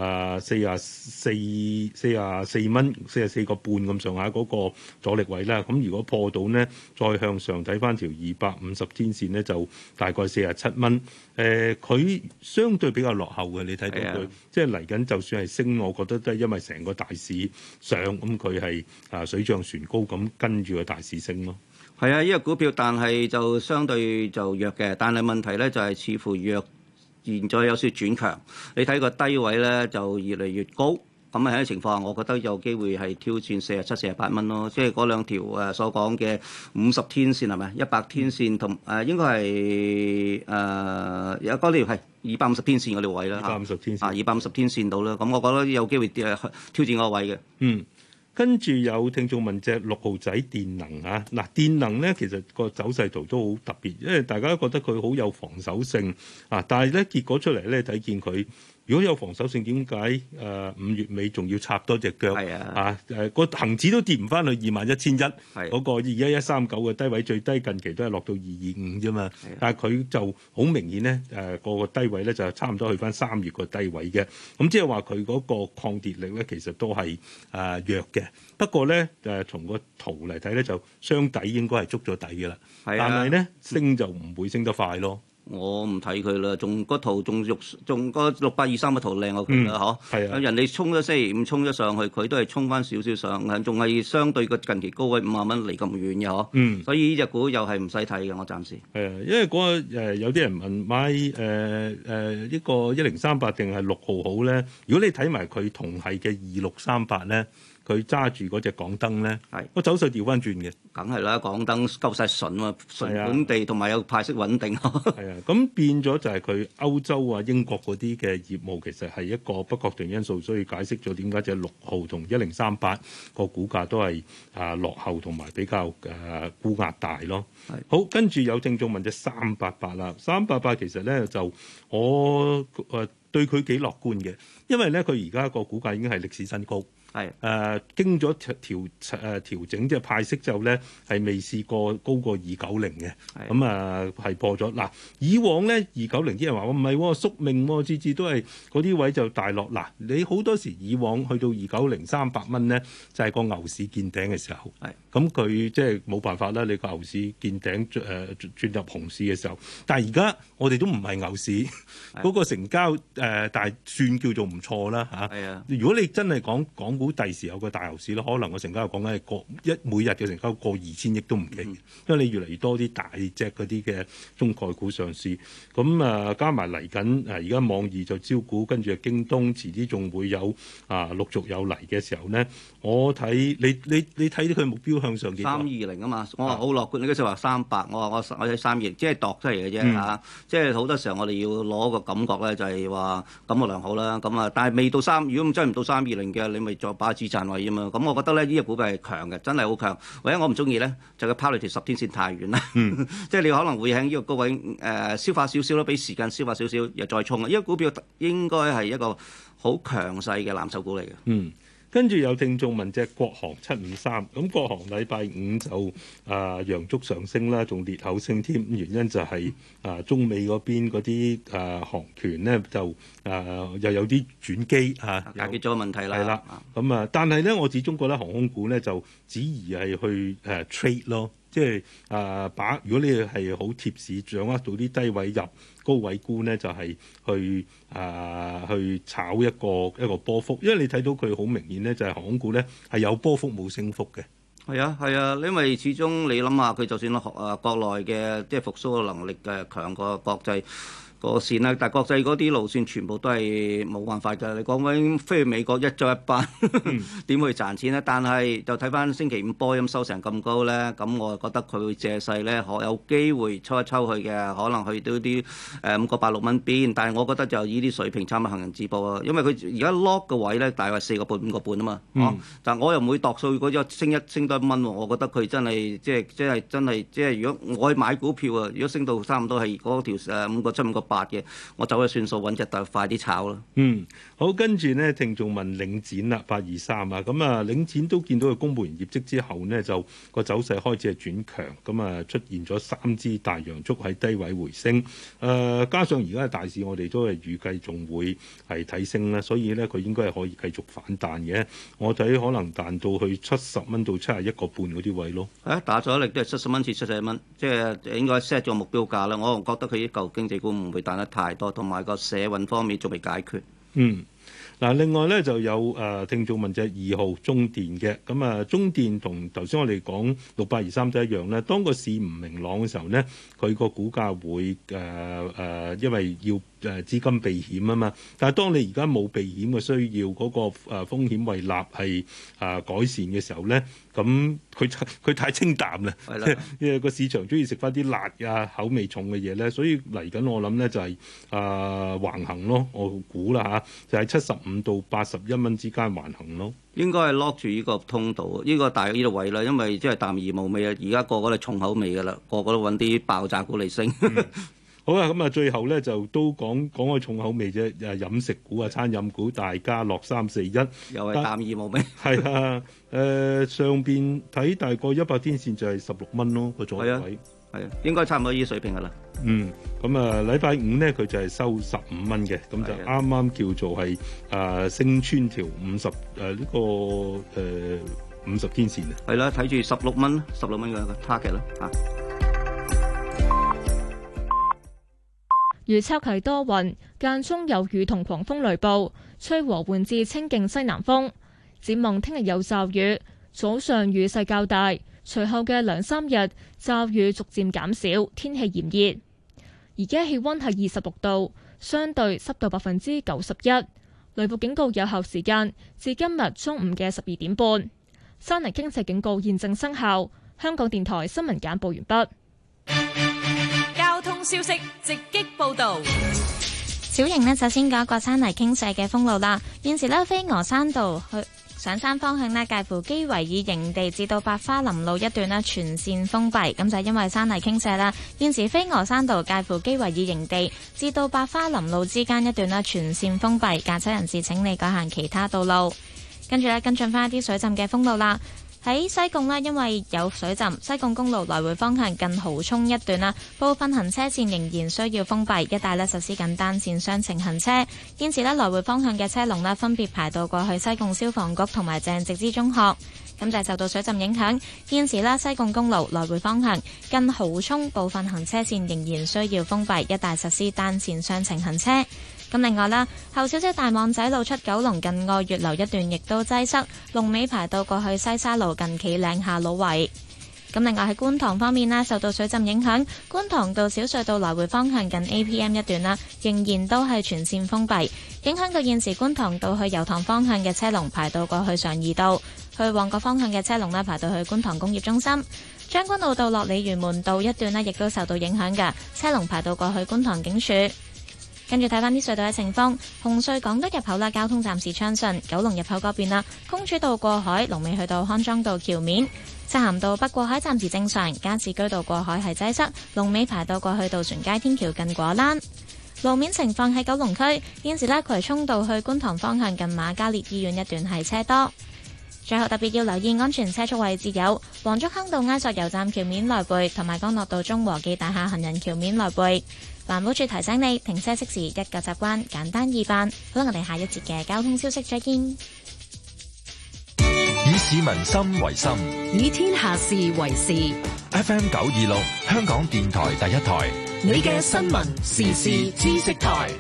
44蚊、44個半咁上下嗰個阻力位啦。咁如果破到呢，再向上睇翻條250天線呢，就大概47蚊。佢相對比較落後嘅，你睇到佢即係嚟緊，就算係升，我覺得都係因為成個大市上，咁佢係水漲船高咁跟住個大市升咯。
係啊，呢個股票，但係就相對就弱嘅，但係問題咧就係似乎弱，現在有少少轉強。你睇個低位咧就越嚟越高。咁喺呢個情況下，我覺得有機會係挑戰47、48蚊咯，即係嗰兩條所講嘅50天線係咪？100天線同應該係有嗰條係250天線嗰條位啦。
250天線
250天線到啦。咁我覺得有機會挑戰嗰個位嘅。
跟住有聽眾問隻6號仔電能嚇，嗱電能咧其實個走勢圖都好特別，因為大家都覺得佢好有防守性但係咧結果出嚟咧睇見佢如果有防守性，點解5月尾仲要插多隻腳？係個恆指都跌唔翻去21,100，嗰個21,139嘅低位最低近期都係落到225啫嘛。但係佢就好明顯咧，個低位咧就差唔多去翻3月個低位嘅。咁即係話佢嗰個抗跌力咧，其實都係弱嘅。不過咧從個圖嚟睇咧，就雙底應該係捉咗底嘅啦。但係咧升就唔會升得快咯。
我唔睇佢啦，仲個圖仲個6823嘅圖靚過佢啦，嗬。係啊，人哋衝咗星期五衝咗上去，佢都係衝翻少少上，仲係相對個近期高位50蚊離咁遠嘅嗬。所以呢隻股又係唔使睇嘅，我暫時。係啊，因為
嗰個有啲人問買呢個1038定係6號好咧？如果你睇埋佢同係嘅2638咧。佢揸住嗰隻港燈咧，個走勢調翻轉嘅，
梗係啦，港燈夠晒純啊，純本地同埋有派息穩定。
係啊，咁變咗就係佢歐洲啊、英國嗰啲嘅業務其實係一個不確定因素，所以解釋咗點解隻6號同1038個股價都係落後同埋比較沽壓大咯。好，跟住有聽眾問隻388啦，388其實咧就我對佢幾樂觀嘅，因為咧佢而家個股價已經係歷史新高。係經咗調整，即係派息之後咧，係未試過高過290嘅。咁係破咗。嗱，以往咧290啲人話我唔係宿命喎，次次都係嗰啲位就大落。嗱，你好多時以往去到290 300蚊咧，就係個牛市見頂嘅時候。咁佢即係冇辦法啦。你個牛市見頂轉入熊市嘅時候，但係而家我哋都唔係牛市，嗰個成交但係算叫做唔錯啦嚇。如果你真係講股第時有個大牛市咧，可能個成交講緊係每日嘅成交過2000億都唔奇，因為你越嚟越多啲大隻嗰啲嘅中概股上市，咁加埋嚟緊而家網易就招股，跟住京東遲啲仲會有陸續有嚟嘅時候咧，我睇你睇到佢目標向上幾多
？320啊嘛，我話好樂觀，你嗰時話300，我睇320，即係度出嚟嘅啫嚇，即係好多時候我哋要攞個感覺咧，就係話感覺良好啦，咁但係未到如果真係唔到320嘅，你咪再把止賺位啊嘛，咁我覺得咧呢隻股票係強嘅，真係好強。唯一我唔中意咧，就佢拋離條10天線太遠啦。即係你可能會喺呢個高位消化少少咯，俾時間消化少少，又再衝啊！呢個股票應該係一個好強勢嘅藍籌股嚟嘅。
跟住有聽眾問隻國航753，咁國航禮拜5就陽燭上升啦，仲裂口升添。原因就係中美嗰邊嗰啲航權咧就又有啲轉機
解決咗問題啦。
係啦，咁但係咧我始終覺得航空股咧就只宜係去trade 咯。即係如果你係好貼市，掌握到啲低位入、高位沽咧，就係去炒一個波幅。因為你睇到佢好明顯咧，就係航空股咧係有波幅冇升幅嘅。
係啊，因為始終你諗下，佢就算國內嘅即係復甦嘅能力強過國際個線啦，但係國際嗰啲路線全部都係冇辦法㗎。你講緊飛去美國一早一班，點去賺錢咧？但係就睇翻星期五波音收成咁高咧，咁我覺得佢會借勢咧，有機會抽一抽去嘅，可能去到啲5個8、6蚊邊。但係我覺得就依啲水平差唔多行人止步啊，因為佢而家 lock 嘅位咧大概4個半、5個半啊嘛。但係我又唔會度數嗰隻升多1蚊喎。我覺得佢真係即係如果我去買股票啊，如果升到差唔多係嗰條5個7、5個8嘅，我走咗算數，揾隻就快啲炒啦。
好，跟住呢，聽眾問領展啦，823啊，咁領展都見到佢公佈完業績之後呢，就個走勢開始係轉強，咁出現咗3支大陽燭喺低位回升，加上而家嘅大市，我哋都係預計仲會係睇升啦，所以呢，佢應該係可以繼續反彈嘅。我睇可能彈到去70蚊到71個半嗰啲位咯。
打咗力都係70蚊至71蚊，即係應該 set 咗目標價啦。我覺得佢啲舊經濟股唔會彈得太多，同埋個社運方面仲未解決。
另外咧就有聽眾問隻2號中電嘅，咁中電同頭先我哋講6823都一樣咧。當個市唔明朗嘅時候咧，佢個股價會因為要資金避險啊嘛。但係當你而家冇避險嘅需要，嗰個風險胃納係改善嘅時候咧，咁佢太清淡啦，因為個市場中意食翻啲辣口味重嘅嘢咧，所以嚟緊我諗咧就係橫行咯，我估啦就係75到81蚊之間橫行咯。
應該係 lock 住呢個通道，呢個大約呢度位啦，因為即係淡而無味啊！而家個個都重口味噶啦，個個都揾啲爆炸股嚟升。
好啊，咁啊，最後咧就都講開重口味啫，飲食股啊、餐飲股大家樂341，
又係淡二無味。
係啊，上邊睇大概100天線就係16蚊咯個阻力位。
係啊，應該差唔多呢啲水平噶啦。
咁啊，禮拜五咧佢就係收15蚊嘅，咁就啱啱叫做係升穿條50呢個50天線啊。
係啦，睇住16蚊嘅 target 啦嚇。
預測係多雲，間中有雨同狂風雷暴，吹和緩至清勁西南風。展望聽日有驟雨，早上雨勢較大。隨後嘅2-3日，驟雨逐漸減少，天氣炎熱。而家氣溫係26度，相對濕度91%。雷暴警告有效時間至今日中午嘅12點半。山泥傾瀉警告現正生效。香港電台新聞簡報完畢。
交通消息直擊報道。
小型呢，首先講一個山泥傾瀉嘅封路啦。現時呢，飛鵝山道去上山方向呢，介乎基維爾營地至到百花林路一段呢，全線封閉，咁就係因為山泥傾瀉啦。現時飛鵝山道介乎基維爾營地至到百花林路之間一段呢，全線封閉，駕駛人士請你改行其他道路。跟住呢，跟進翻一啲水浸嘅封路啦。喺西貢呢，因為有水浸，西貢公路來回方向近蠔涌一段啦，部分行車線仍然需要封閉，一帶呢實施緊單線雙程行車。現時呢，來回方向嘅車龍呢分別排到過去西貢消防局同埋鄭植之中學。咁就係受到水浸影響，現時呢，西貢公路來回方向近蠔涌部分行車線仍然需要封閉，一帶實施單線雙程行車。咁另外啦，後小姐大網仔路出九龍近愛月樓一段亦都擠塞，龍尾排到過去西沙路近企嶺下路圍。咁另外喺觀塘方面啦，受到水浸影響，觀塘道小隧道來回方向近 APM 一段啦，仍然都係全線封閉，影響到現時觀塘道去油塘方向嘅車龍排到過去常怡道，去旺角方向嘅車龍呢排到去觀塘工業中心。將軍澳道落鯉魚門道一段呢亦都受到影響嘅，車龍排到過去觀塘警署。跟住睇翻啲隧道嘅情況，紅隧港島入口啦，交通暫時暢順；九龍入口嗰邊啦，公主道過海，龍尾去到康莊道橋面；漆咸道北過海暫時正常，加士居道過海係擠塞，龍尾排到過去渡船街天橋近果欄。路面情況喺九龍區，現時呢，葵涌道去觀塘方向近瑪嘉烈醫院一段係車多。最後特別要留意安全車速位置有黃竹坑道埃索油站橋面來回，同埋干諾道中和記大廈行人橋面來回。環保署提醒你，停車熄匙一個習慣，簡單易辦。好啦，我哋下一節嘅交通消息再見。
以市民心為心，
以天下事為事。
FM 926，香港電台第一台，
你嘅新聞時事知識台。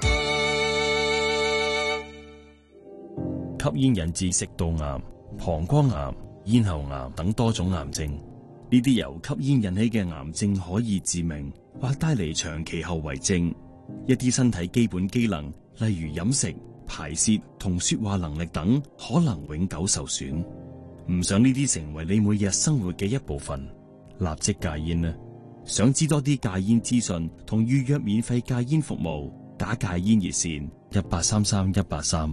吸煙引致食道癌、膀胱癌、咽喉癌等多種癌症，呢啲由吸煙引起嘅癌症可以致命，或帶嚟長期後遺症。一啲身體基本機能，例如飲食、排泄同說話能力等，可能永久受損。唔想呢啲成為你每日生活嘅一部分，立即戒煙啦！想知多啲戒煙資訊同預約免費戒煙服務，打戒煙熱線1833-183。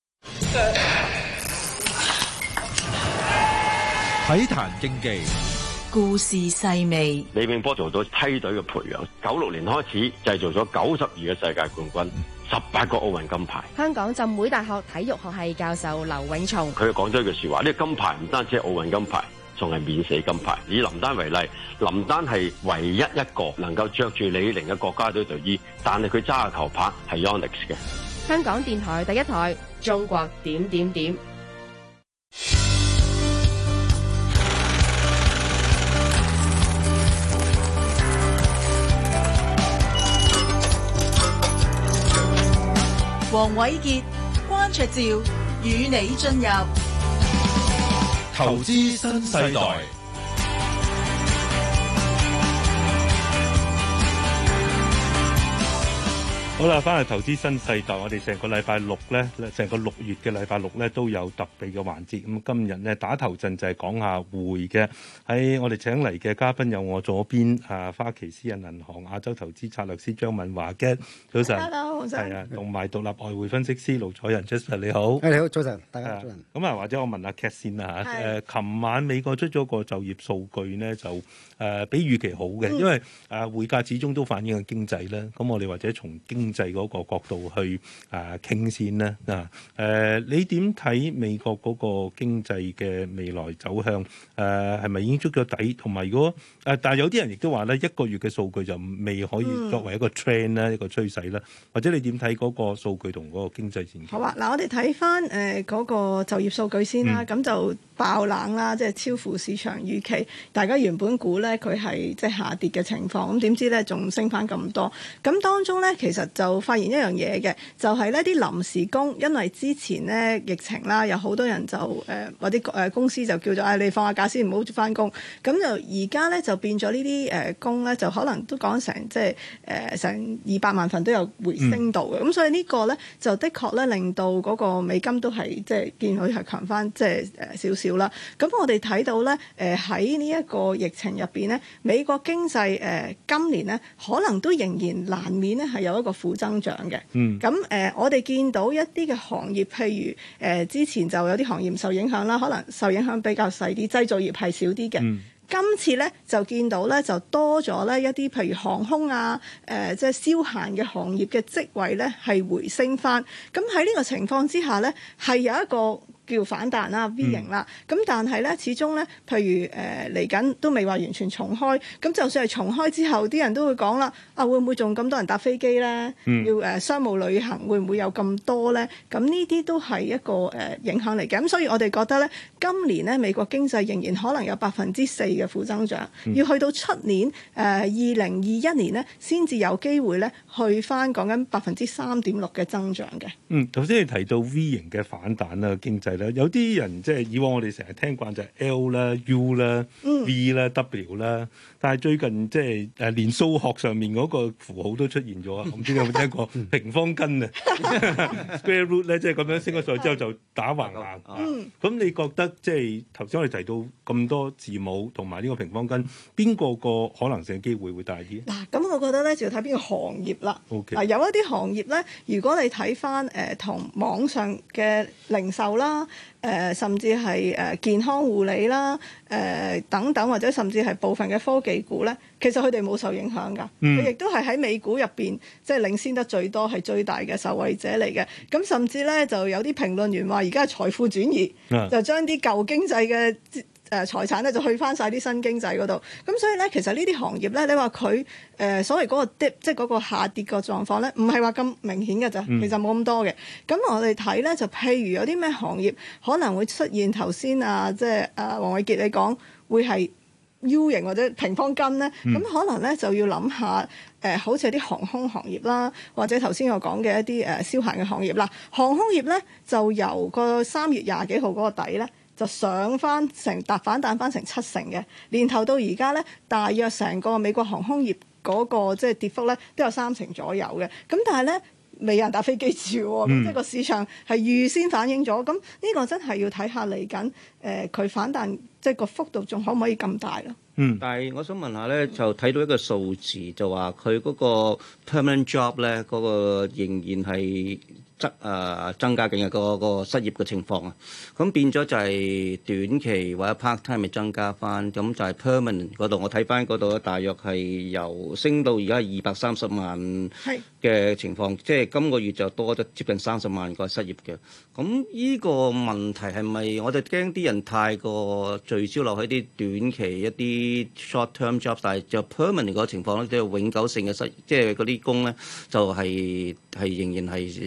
體壇競技，
故事細味。
李永波做到梯隊嘅培養，96年開始製造咗92個世界冠軍，18個奧運金牌。
香港浸會大學體育學系教授劉永松，
佢講咗一句說話：呢個金牌唔單止係奧運金牌，仲係免死金牌。以林丹為例，林丹係唯一一個能夠着住李寧嘅國家隊隊衣，但係佢揸嘅球拍係 Yonex 嘅。
香港電台第一台，中國點點點。
黃瑋傑、關焯照與你進入
投資新世代。
好啦，翻嚟投資新世代，我哋成個禮拜六咧，成個6月嘅禮拜六咧都有特別嘅環節。咁今日咧打頭陣就係講下匯嘅。喺我哋請嚟嘅嘉賓有我左邊花旗私人銀行亞洲投資策略師張敏華嘅，早晨。
Hello，早晨。
係啊，同埋獨立外匯分析師盧楚仁 Jasper 你好。
你好，早晨，大家早晨。
咁或者我問下 Cat 先啦嚇。琴晚美國出咗個就業數據咧，就比預期好嘅，因為匯價始終都反映緊經濟啦。咁我哋或者從經濟嗰個角度去傾先啦。你點睇美國嗰個經濟嘅未來走向？係咪已經捉咗底？同埋如果但係有啲人亦都話咧，一個月嘅數據就未可以作為一個 trend 啦，一個趨勢啦。或者你點睇嗰個數據同嗰個經濟前景？
好啊，嗱，我哋睇翻嗰個就業數據先啦。咁就爆冷啦，即係超乎市場預期。大家原本估咧佢係即係下跌嘅情況，咁點知咧仲升翻咁多？咁當中咧其實就發現一樣嘢嘅，就係呢啲臨時工，因為之前咧疫情啦，有好多人就或者公司就叫做你放下假先，唔好翻工。咁就而家咧就變咗呢啲工咧，就可能都講成即係成200萬份都有回升到嘅。咁所以呢個咧就的確咧令到嗰個美金都係即係見佢係強翻即係少少啦。咁我哋睇到咧喺呢一個疫情入邊咧，美國經濟今年咧可能都仍然難免咧係有一個負增長嘅。咁我哋見到一啲嘅行業，譬如之前就有啲行業受影響啦，可能受影響比較細啲，製造業係少啲嘅。今次咧就見到咧就多咗咧一啲譬如航空啊即係消閒嘅行業嘅職位咧係回升翻。咁喺呢個情況之下咧係有一個叫反彈啦 V 型啦。咁但係咧始終咧譬如嚟緊都未話完全重開。咁就算係重開之後，啲人都會講啦，會唔會仲咁多人搭飛機咧？要商務旅行會唔會有咁多咧？咁呢啲都係一個影響嚟嘅。咁所以我哋覺得咧，今年咧美國經濟仍然可能有4%嘅負增長，要去到出年2021年咧，先至有機會咧去翻講緊3.6%嘅增長嘅。
頭先你提到 V 型嘅反彈啦，經濟咧，有啲人即係以往我哋成日聽慣就係 L 啦、U 啦、V 啦、W 啦，但係最近即係連數學上面嗰個符號都出現咗啊！唔知你有冇聽過平方根啊？Square root 咧，即係咁樣升咗上去之後就打橫行。咁你覺得即係頭先我哋提到咁多字母同埋呢個平方根，邊個可能性機會會大啲？
嗱，咁我覺得咧就要睇邊個行業啦。
Okay.
有一啲行業咧，如果你睇翻同網上嘅零售啦，甚至係健康護理啦，等等，或者甚至係部分嘅科技股咧，其實佢哋冇受影響㗎。佢亦都係喺美股入邊即係領先得最多，係最大嘅受惠者嚟嘅。咁甚至咧就有啲評論員話，而家係財富轉移，就將啲舊經濟嘅財產咧就去翻晒啲新經濟嗰度。咁所以咧，其實呢啲行業咧，你話佢所謂嗰個 dip， 即係嗰個下跌個狀況咧，唔係話咁明顯嘅咋，其實冇咁多嘅。咁我哋睇咧，就譬如有啲咩行業可能會出現頭先即係黃偉傑你講會係 U 型或者平方根咧，咁可能咧就要諗下好似啲航空行業啦，或者頭先我講嘅一啲消閒嘅行業啦。航空業咧就由個3月20幾號嗰個底咧，就上翻反彈翻成7%嘅，年頭到而家咧，大約成個美國航空業嗰個即係跌幅咧都有3%左右嘅。咁但係咧未有人搭飛機住喎，咁即係個市場係預先反映咗。咁呢個真係要睇下嚟緊佢反彈即係個幅度仲可唔可以咁大咯？
但係我想問下咧，就睇到一個數字，就話佢嗰個 permanent job 咧，嗰個仍然係增加緊嘅個失業嘅情況啊，咁變咗就係短期或者 part time 咪增加翻，咁就係 permanent 嗰度，我睇翻嗰度咧，大約係由升到而家230萬嘅情況，即係今個月就多咗接近30萬個失業嘅。咁呢個問題係咪我哋驚啲人太過聚焦落喺啲短期一啲 short term job， 但係就 permanent 嗰個情況咧，即係永久性嘅即係嗰啲工咧，就係仍然係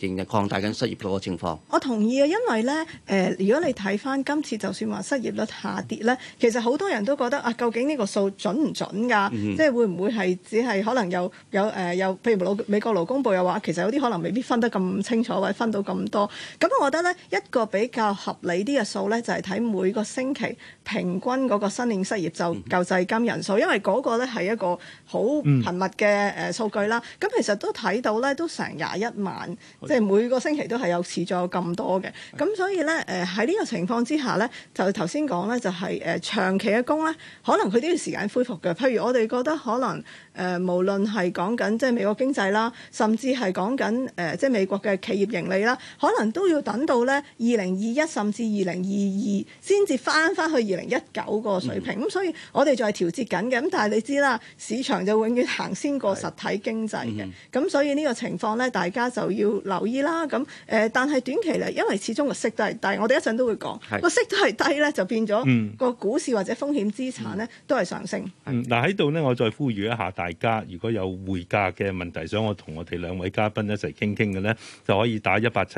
仍然擴大緊失業嗰個情況。
我同意啊，因為咧如果你睇翻今次就算話失業率下跌咧，其實好多人都覺得啊，究竟呢個數準唔準㗎？即係會唔會係只係可能有譬如美國勞工部又話，其實有啲可能未必分得咁清楚，或者分到咁多。咁我覺得咧一個比較合理啲嘅數咧，就係睇每個星期平均嗰個申領失業救濟金人數，因為嗰個咧係一個好頻密嘅數據啦。咁其實都睇到咧，都成21萬，即係每個星期都係有持續有咁多嘅。咁所以咧喺呢個情況之下咧，就頭先講咧就係長期嘅工咧，可能佢都要時間恢復嘅。譬如我哋覺得可能無論係講緊即係美國經濟啦，甚至係講緊即係美國嘅企業盈利啦，可能都要等到咧2021甚至2022先至翻去2019個水平。咁所以我哋就係調節緊嘅。咁但係你知啦，市場就永遠行先過實體經濟嘅。咁所以呢個情況咧，大家就要留意啦。咁但係短期嚟，因為始終個息都係低，我哋一陣都會講個息都係低咧，就變咗個股市或者風險資產咧都係上升。
嗱喺度咧，我再呼籲一下大家，如果有匯價嘅問題想我同我哋兩位嘉賓一齊傾嘅咧，就可以打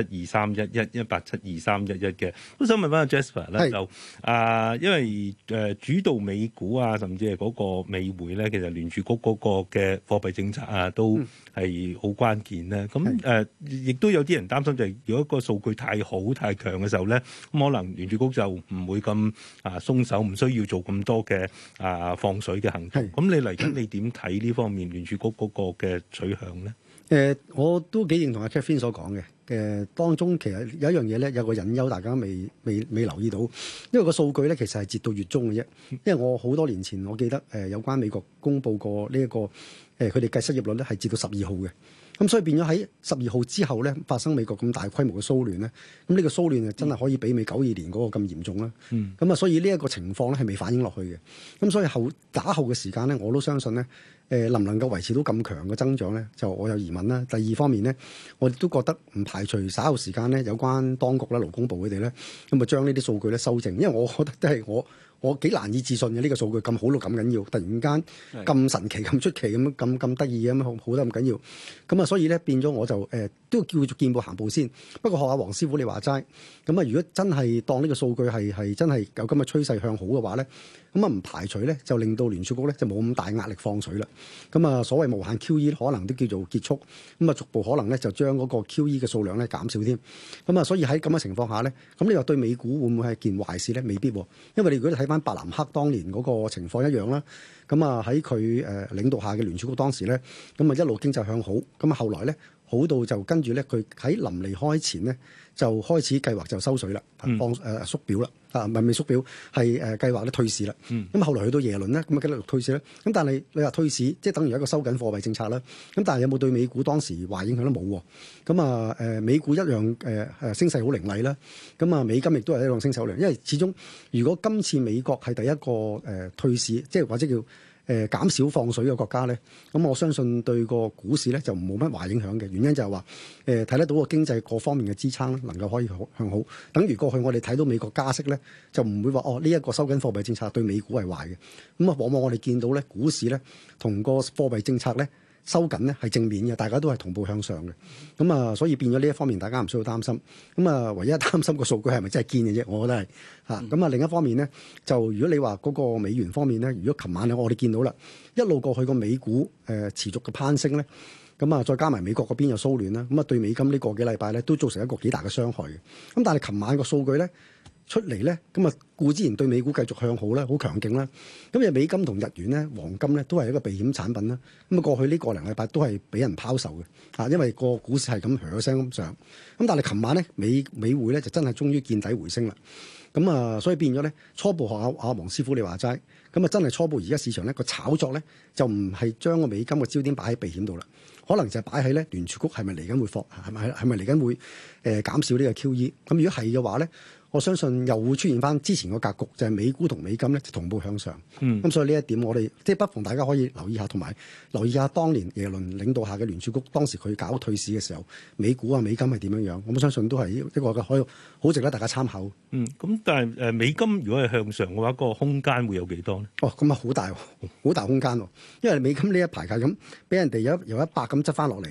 1872311嘅。都想問翻阿 Jasper 咧，就因為主導美股啊，甚至係嗰個美匯咧，其實聯儲局嗰個嘅貨幣政策啊，都係好關鍵咧。咁亦都有啲人擔心就係，如果個數據太好太強嘅時候咧，咁可能聯儲局就唔會咁鬆手，唔需要做咁多嘅放水嘅行動。咁你嚟緊你點睇呢方面聯儲局嗰個嘅取向咧？
我都幾認同阿 Catherine 所講嘅。當中其實有一樣嘢咧，有個隱憂，大家未留意到，因為個數據咧其實係截到月中嘅啫。因為我好多年前我記得有關美國公佈過呢一個佢哋計失業率咧係截到12號嘅。咁所以變咗喺12號之後咧，發生美國咁大規模嘅騷亂咧，咁呢個騷亂真係可以媲美92年嗰個咁嚴重啦。咁所以呢一個情況咧係未反映落去嘅。咁所以打後嘅時間咧，我都相信咧，能唔能夠維持到咁強嘅增長咧，就我有疑問啦。第二方面咧，我哋都覺得唔排除稍後時間咧，有關當局啦、勞工部佢哋咧，咁啊將呢啲數據咧修正，因為我覺得都係我幾難以置信嘅呢個數據咁好到咁緊要，突然間咁神奇、咁出奇咁得意咁好得咁緊要，咁啊所以咧變咗我就都叫做見步行步先。不過學下黃師傅你話齋，咁啊如果真係當呢個數據係真係有咁嘅趨勢向好嘅話咧，咁啊唔排除咧就令到聯儲局咧就冇咁大壓力放水啦。咁啊所謂無限 QE 可能都叫做結束，咁啊逐步可能咧就將嗰個 QE 嘅數量咧減少添。咁啊所以喺咁嘅情況下咧，咁你話對美股會唔會係件壞事咧？未必，因為你如果你睇翻伯南克當年嗰個情況一樣啦，咁啊喺佢領導下嘅聯儲局當時咧，咁啊一路經濟向好，咁啊後來咧好到就跟住咧佢喺臨離開前咧就開始計劃就收水啦，放縮表啦，唔係未縮表係計劃咧退市啦。咁後來去到耶倫咧，咁啊繼續退市啦。咁但係你話退市即係等於一個收緊貨幣政策啦。咁但係有冇對美股當時壞影響都冇喎。咁啊美股一樣升勢好凌厲啦。咁啊美金亦都係一樣升勢好凌厲，因為始終如果今次美國係第一個退市，即係或者叫減少放水嘅國家咧，咁我相信對個股市咧就冇乜壞影響嘅。原因就係話睇得到個經濟各方面嘅支撐能夠可以向好。等於過去我哋睇到美國加息咧，就唔會話呢一個收緊貨幣政策對美股係壞嘅。咁啊往往我哋見到咧股市咧同個貨幣政策咧收緊咧係正面嘅，大家都係同步向上嘅。咁啊，所以變咗呢一方面，大家唔需要擔心。咁啊，唯一擔心個數據係咪真係堅嘅啫？我覺得係嚇。咁啊，另一方面咧，就如果你話嗰個美元方面咧，如果琴晚我哋見到啦，一路過去個美股持續嘅攀升咧，咁啊，再加埋美國嗰邊有騷亂啦，咁啊，對美金呢個幾禮拜咧都造成一個幾大嘅傷害嘅。咁但係琴晚個數據咧出嚟咧，咁啊固之然對美股繼續向好啦，好強勁啦。咁啊美金同日元咧、黃金咧都係一個避險產品啦。咁啊過去呢個零禮拜都係俾人拋售嘅，嚇，因為個股市係咁響聲咁上。咁但係琴晚咧美匯咧就真係終於見底回升啦。咁啊所以變咗咧初步學下黃師傅你話齋，咁啊真係初步而家市場咧個炒作咧就唔係將個美金嘅焦點擺喺避險度啦，可能就係擺喺咧聯儲局係咪嚟緊會放，係咪嚟緊會減少呢個 QE。咁如果係嘅話咧，我相信又會出現翻之前個格局，就係美股同美金咧同步向上。咁所以呢一點我哋即係不妨大家可以留意下，同埋留意下當年耶倫領導下嘅聯儲局當時佢搞退市嘅時候，美股啊美金係點樣樣。我相信都係一個嘅可以好值得大家參考。
咁但係美金如果係向上嘅話，個空間會有幾多咧？
咁啊好大空間喎，因為美金呢一排係咁俾人哋由100咁執翻落嚟。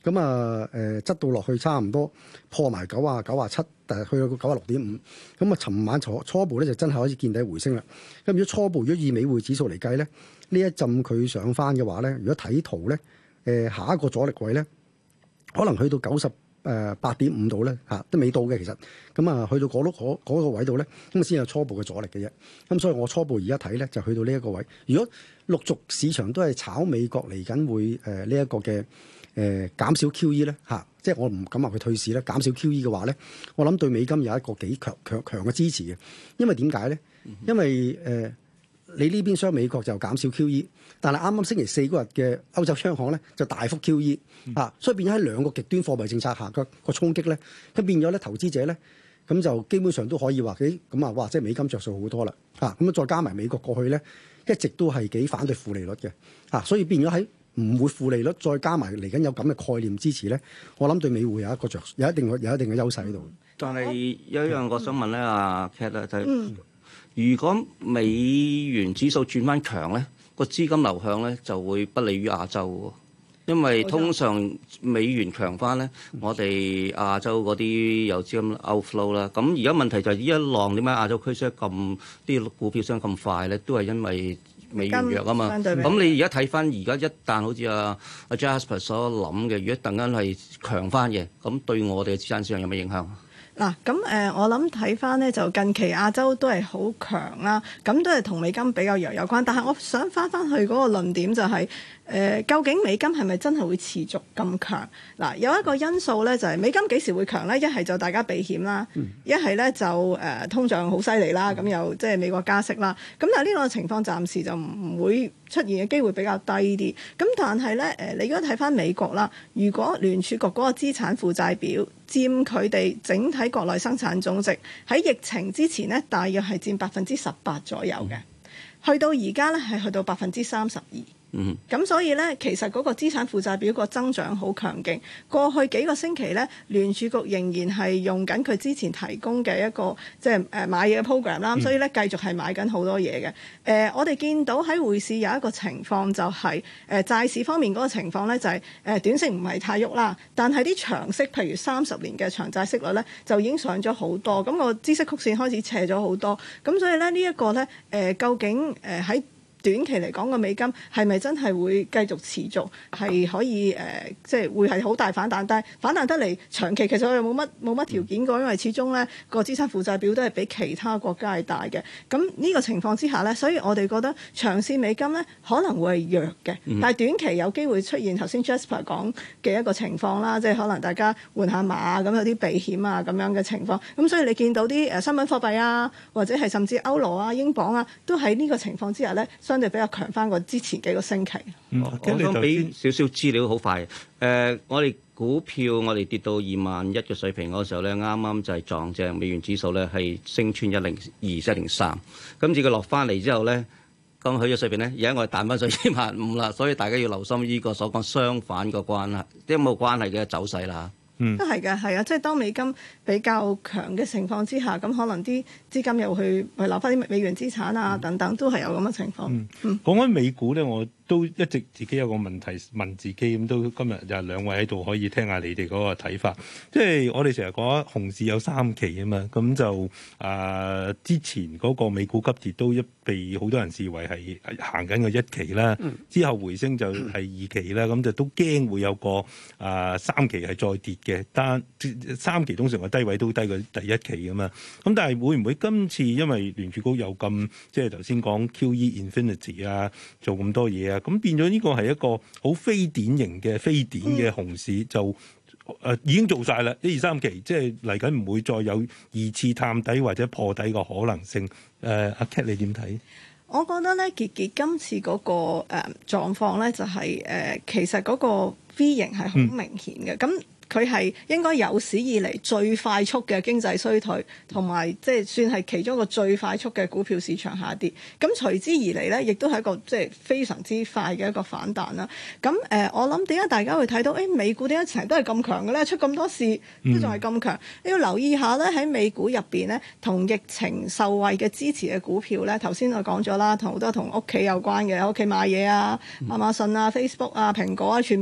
咁啊執到落去差唔多破埋97，但係去到96.5。咁啊，尋晚初步咧就真係可以見底回升啦。咁如果初步如果以美匯指數嚟計咧，呢一陣佢上翻嘅話咧，如果睇圖咧，下一個阻力位咧，可能去到8.5度咧嚇，都未到嘅其實。咁啊，去到嗰個位度咧，咁先有初步嘅阻力嘅啫。咁所以我初步而家睇咧，就去到呢一個位。如果陸續市場都係炒美國嚟緊會呢一個嘅減少 QE 咧嚇，即係我唔敢話佢退市咧，減少 QE 嘅話咧，我諗對美金有一個幾強嘅支持嘅。因為點解咧？因為你呢邊雙美國就減少 QE， 但係啱啱星期四嗰日嘅歐洲央行咧就大幅 QE 啊，所以變咗喺兩個極端貨幣政策下個衝擊咧，咁變咗咧投資者咧咁就基本上都可以話咁啊，哇！即係美金着數好多啦嚇，咁再加埋美國過去咧一直都係幾反對負利率嘅啊，所以變咗喺唔會負利率，再加埋嚟緊有咁嘅概念支持咧，我諗對美匯有一個有一定嘅優勢喺度。
但係有一樣我想問咧，阿 Cat 咧就係。如果美元指數轉翻強咧，個資金流向咧就會不利於亞洲喎，因為通常美元強翻咧，我哋亞洲嗰啲有資金 outflow 啦。咁而家問題就係呢一浪點解亞洲區升咁啲股票升咁快咧？都係因為美元弱啊嘛。咁你而家睇翻而家一旦好似阿 Jasper 所諗嘅，如果突然間係強翻嘅，咁對我哋嘅資產市場有咩影響？
嗱，咁我諗睇翻咧，就近期亞洲都係好強啦，咁都係同美金比較弱有關。但係我想翻去嗰個論點就係、究竟美金係咪真係會持續咁強？嗱，有一個因素咧就係、美金幾時會強咧？一係就大家避險啦，一係咧就通脹好犀利啦，咁又即係美國加息啦。咁但係呢個情況暫時就唔會出現嘅機會比較低啲。咁但係咧你如果睇翻美國啦，如果聯儲局嗰個資產負債表佔佢哋整體國內生產總值喺疫情之前呢，大約係佔18%左右嘅，去到而家呢，係去到32%。咁所以咧，其實嗰個資產負債表個增長好強勁。過去幾個星期咧，聯儲局仍然係用緊佢之前提供嘅一個即係買嘢嘅 program 啦。所以咧，繼續係買緊好多嘢嘅。我哋見到喺匯市有一個情況就係債市方面嗰個情況咧，就係短息唔係太喐啦，但係啲長息，譬如30年嘅長債息率咧，就已經上咗好多。咁個孳息曲線開始斜咗好多。咁所以咧，呢一個咧究竟喺短期嚟講個美金係咪真係會繼續持續係可以即係會係好大反彈？但係反彈得嚟長期其實我又冇乜條件㗎，因為始終咧個資產負債表都係比其他國家係大嘅。咁呢個情況之下咧，所以我哋覺得長線美金咧可能會係弱嘅，但係短期有機會出現頭先 Jasper 講嘅一個情況啦，即係可能大家換下馬咁有啲避險啊咁樣嘅情況。咁所以你見到啲商品貨幣啊，或者係甚至歐羅啊、英鎊啊，都喺呢個情況之下咧，相對比較強翻過之前幾個星期。
我想俾少少資料，好快。我哋股票我哋跌到21,000嘅水平嗰時候咧，啱啱就係撞正美元指數咧係升穿102、103。今次佢落翻嚟之後咧，咁去咗水平咧，而家我哋彈翻上25,000啦。所以大家要留心呢個所講相反個關係，即係冇關係嘅走勢啦。
都係嘅，係啊，即係當美金比較強嘅情況之下，咁可能啲資金又去留翻啲美元資產啊等等，都係有咁嘅情況。
講緊美股咧，我都一直自己有個問題問自己，咁都今日就兩位喺度可以聽下你哋嗰個睇法。即係我哋成日講熊市有3期啊嘛，咁就之前嗰個美股急跌都被好多人視為係行緊個1期啦，之後回升就係2期啦，咁就都驚會有個3期係再跌嘅，但3期通常個低位都低過第1期噶嘛。咁但係會唔會今次因為聯儲局有咁即係頭先講 QE Infinity 啊，做咁多嘢啊？咁變咗呢個係一個好非典型嘅非典嘅熊市，就已經做晒啦，1、2、3期，即係嚟緊唔會再有2次探底或者破底嘅可能性。阿 Cat 你點睇？
我覺得咧，傑今次嗰個狀況咧，就係其實嗰個 V 型係好明顯嘅，咁佢係應該有史以嚟最快速嘅經濟衰退，同埋即係算係其中一個最快速嘅股票市場下跌。咁隨之而嚟咧，亦都係一個即係非常之快嘅一個反彈啦。咁我諗點解大家會睇到美股點解成日都係咁強嘅咧？出咁多事都仲係咁強。你要留意下咧，喺美股入邊咧，同疫情受惠嘅支持嘅股票咧，頭先我講咗啦，同好多同屋企有關嘅，屋企買嘢啊，亞馬遜啊、Facebook 啊、蘋果啊，全部都唔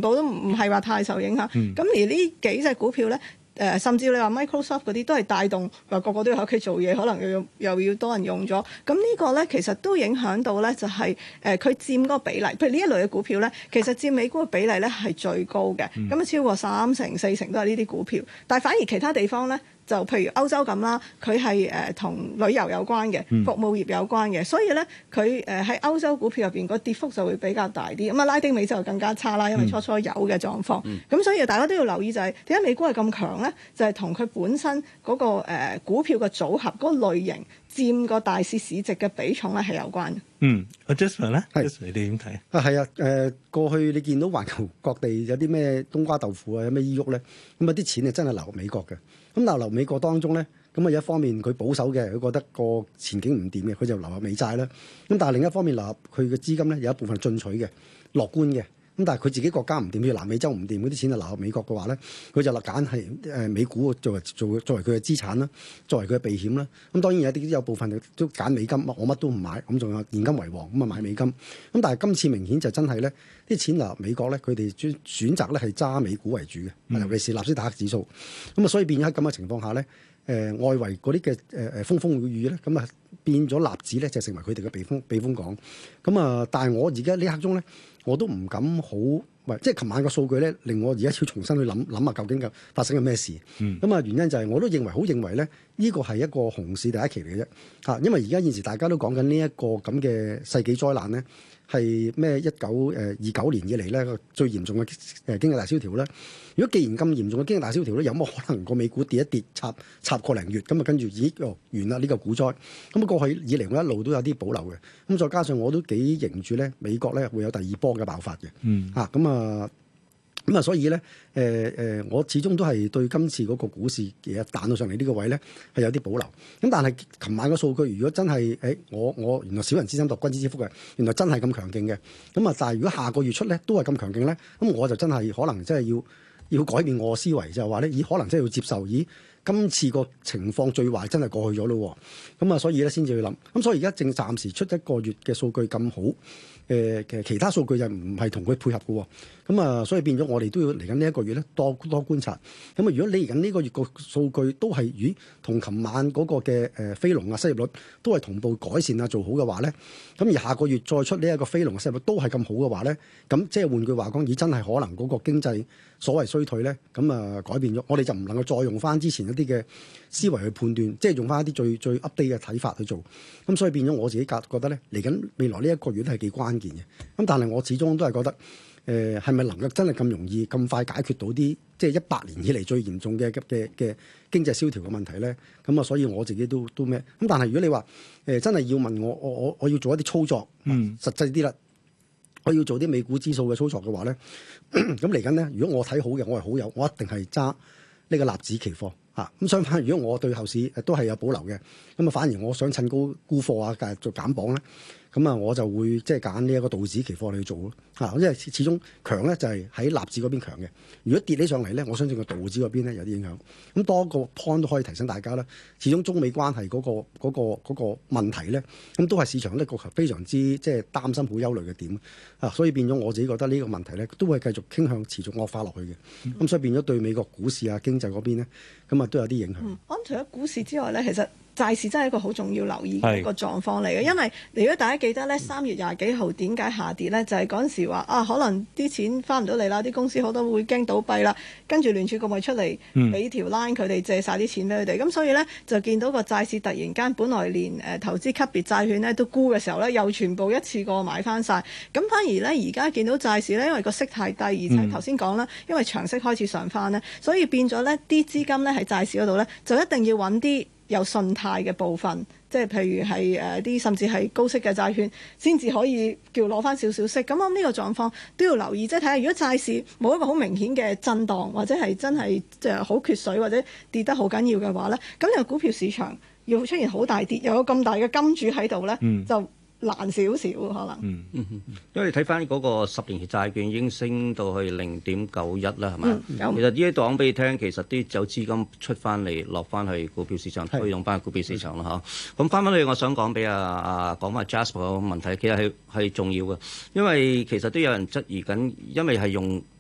唔係話太受影響。咁而呢幾隻股票咧。甚至你話 Microsoft 嗰啲都係帶動，話個個都要喺屋企做嘢，可能又要多人用咗。咁呢個咧其實都影響到咧，就係佢佔嗰個比例。譬如呢一類嘅股票咧，其實佔美股嘅比例咧係最高嘅，咁超過3成4成都係呢啲股票。但係反而其他地方咧，就譬如歐洲咁啦，佢係同旅遊有關嘅，服務業有關嘅，所以咧佢喺歐洲股票入邊個跌幅就會比較大啲。咁拉丁美洲就更加差啦，因為初初有嘅狀況。咁所以大家都要留意就係點解美股係咁強咧？就係同佢本身嗰個股票嘅組合嗰個類型佔個大市市值嘅比重咧係有關嘅。
阿 Jasper 咧，你點睇啊？
係啊，過去你見到環球各地有啲咩冬瓜豆腐啊，有咩依喐咧，咁啊啲錢係真係流入美國嘅。咁流美國當中咧，咁啊有一方面佢保守嘅，佢覺得個前景唔掂嘅，佢就流入美債啦。咁但係另一方面流入佢嘅資金咧，有一部分進取嘅、樂觀嘅。咁但係佢自己國家唔掂，譬如南美洲唔掂，嗰啲錢就流入美國嘅話咧，佢就揀係美股作為佢嘅資產啦，作為佢嘅避險啦。咁當然有部分都揀美金，我乜都唔買，咁仲有現金為王，咁啊買美金。咁但係今次明顯就真係咧，啲錢流入美國咧，佢哋選擇咧係揸美股為主嘅，尤其是納斯達克指數。咁啊，所以變咗喺咁嘅情況下咧，外圍嗰啲嘅風風雨雨咧，咁啊變咗納指咧就成為佢哋嘅避風港。咁啊，但係我而家呢刻鐘咧，我都唔敢好，即係琴晚個數據咧，令我而家要重新去諗下究竟發生緊咩事。咁啊，原因就係我都認為咧，呢個係一個熊市第一期嚟嘅啫。嚇，因為而家現時大家都講緊呢一個咁嘅世紀災難咧，係咩1929年以嚟咧最嚴重嘅經濟大蕭條咧。如果既然咁嚴重嘅經濟大蕭條咧，有冇可能個美股跌一跌插個零月咁啊？跟住完啦呢個股災。咁過去以嚟我一路都有啲保留嘅。咁再加上我都幾認住咧，美國咧會有第二波嘅爆發嘅。咁啊，所以咧，我始終都係對今次嗰個股市嘅彈到上嚟呢個位咧係有啲保留。咁但係琴晚個數據，如果真係，我原來小人之心度君子之腹嘅，原來真係咁強勁嘅。咁啊，但係如果下個月出咧都係咁強勁咧，咁我就真係可能真係要改變我嘅思維，就係話咧，可能真係要接受，今次個情況最壞真係過去咗咯。咁啊，所以咧先至去諗。咁所以而家正暫時出一個月嘅數據咁好。其他數據就唔係同佢配合嘅。咁啊，所以變咗我哋都要嚟緊呢一個月咧多觀察。咁啊，如果你嚟緊呢個月個數據都係同琴晚嗰個嘅非農啊失業率都係同步改善啊做好嘅話咧，咁而下個月再出呢一個非農嘅失業率都係咁好嘅話咧，咁即係換句話講，真係可能嗰個經濟所謂衰退咧，咁啊改變咗，我哋就唔能夠再用翻之前一啲嘅思維去判斷，即係用翻一啲最 update 嘅睇法去做。咁所以變咗我自己覺得咧，嚟緊未來呢一個月都係幾關鍵嘅。咁但係我始終都係覺得，係咪能夠真係咁容易咁快解決到啲即係100年以嚟最嚴重嘅經濟蕭條嘅問題咧？咁啊，所以我自己都咩？咁但係如果你話真係要問我要做一啲操作，實際啲啦，我要做啲美股指數嘅操作嘅話咧，咁嚟緊咧，如果我睇好嘅，我係好友，我一定係揸呢個納指期貨。咁相反，如果我對後市都係有保留嘅，咁啊反而我想趁高沽貨啊，繼續做減磅咧，咁啊我就會即係揀呢一個道指期貨嚟去做咯。因為始終強咧就係喺納指嗰邊強嘅。如果跌起上嚟咧，我相信個道指嗰邊咧有啲影響。咁多個 point 都可以提醒大家啦。始終中美關係嗰個問題咧，咁都係市場呢個非常之即係擔心、好憂慮嘅點。所以變咗我自己覺得呢個問題咧，都會繼續傾向持續惡化落去嘅。咁所以變咗對美國股市啊、經濟嗰邊咧，咁啊都有啲影響。
咁除咗股市之外咧，其實債市真係一個好重要留意嘅一個狀況嚟嘅，因為如果大家記得咧，3月20幾號點解下跌咧，就係嗰陣時話可能啲錢翻唔到嚟啦，啲公司好多會驚倒閉啦，跟住聯儲局咪出嚟俾條 line 佢哋借晒啲錢俾佢哋，咁所以咧就見到個債市突然間本來連投資級別債券咧都沽嘅時候咧，又全部一次過買翻晒。咁反而咧而家見到債市咧，因為個息太低，而且頭先講啦，因為長息開始上翻咧，所以變咗咧啲資金咧喺債市嗰度咧就一定要揾啲有信貸嘅部分，即係譬如係啲甚至係高息嘅債券，先至可以叫攞翻少少息。咁我諗呢個狀況都要留意，即係睇下如果債市冇一個好明顯嘅震盪，或者係真係即係好缺水或者跌得好緊要嘅話咧，咁個股票市場要出現好大跌，又有咁大嘅金主喺度咧，就難少少可能。
因為你睇翻嗰個10年期債券已經升到去0.91啦，係咪？其實呢啲講俾你聽，其實啲有資金出翻嚟，落翻去股票市場，推動翻股票市場啦嚇。咁翻返去，我想講俾講翻 Jasper 個問題，其實係重要嘅，因為其實都有人質疑緊，因為係用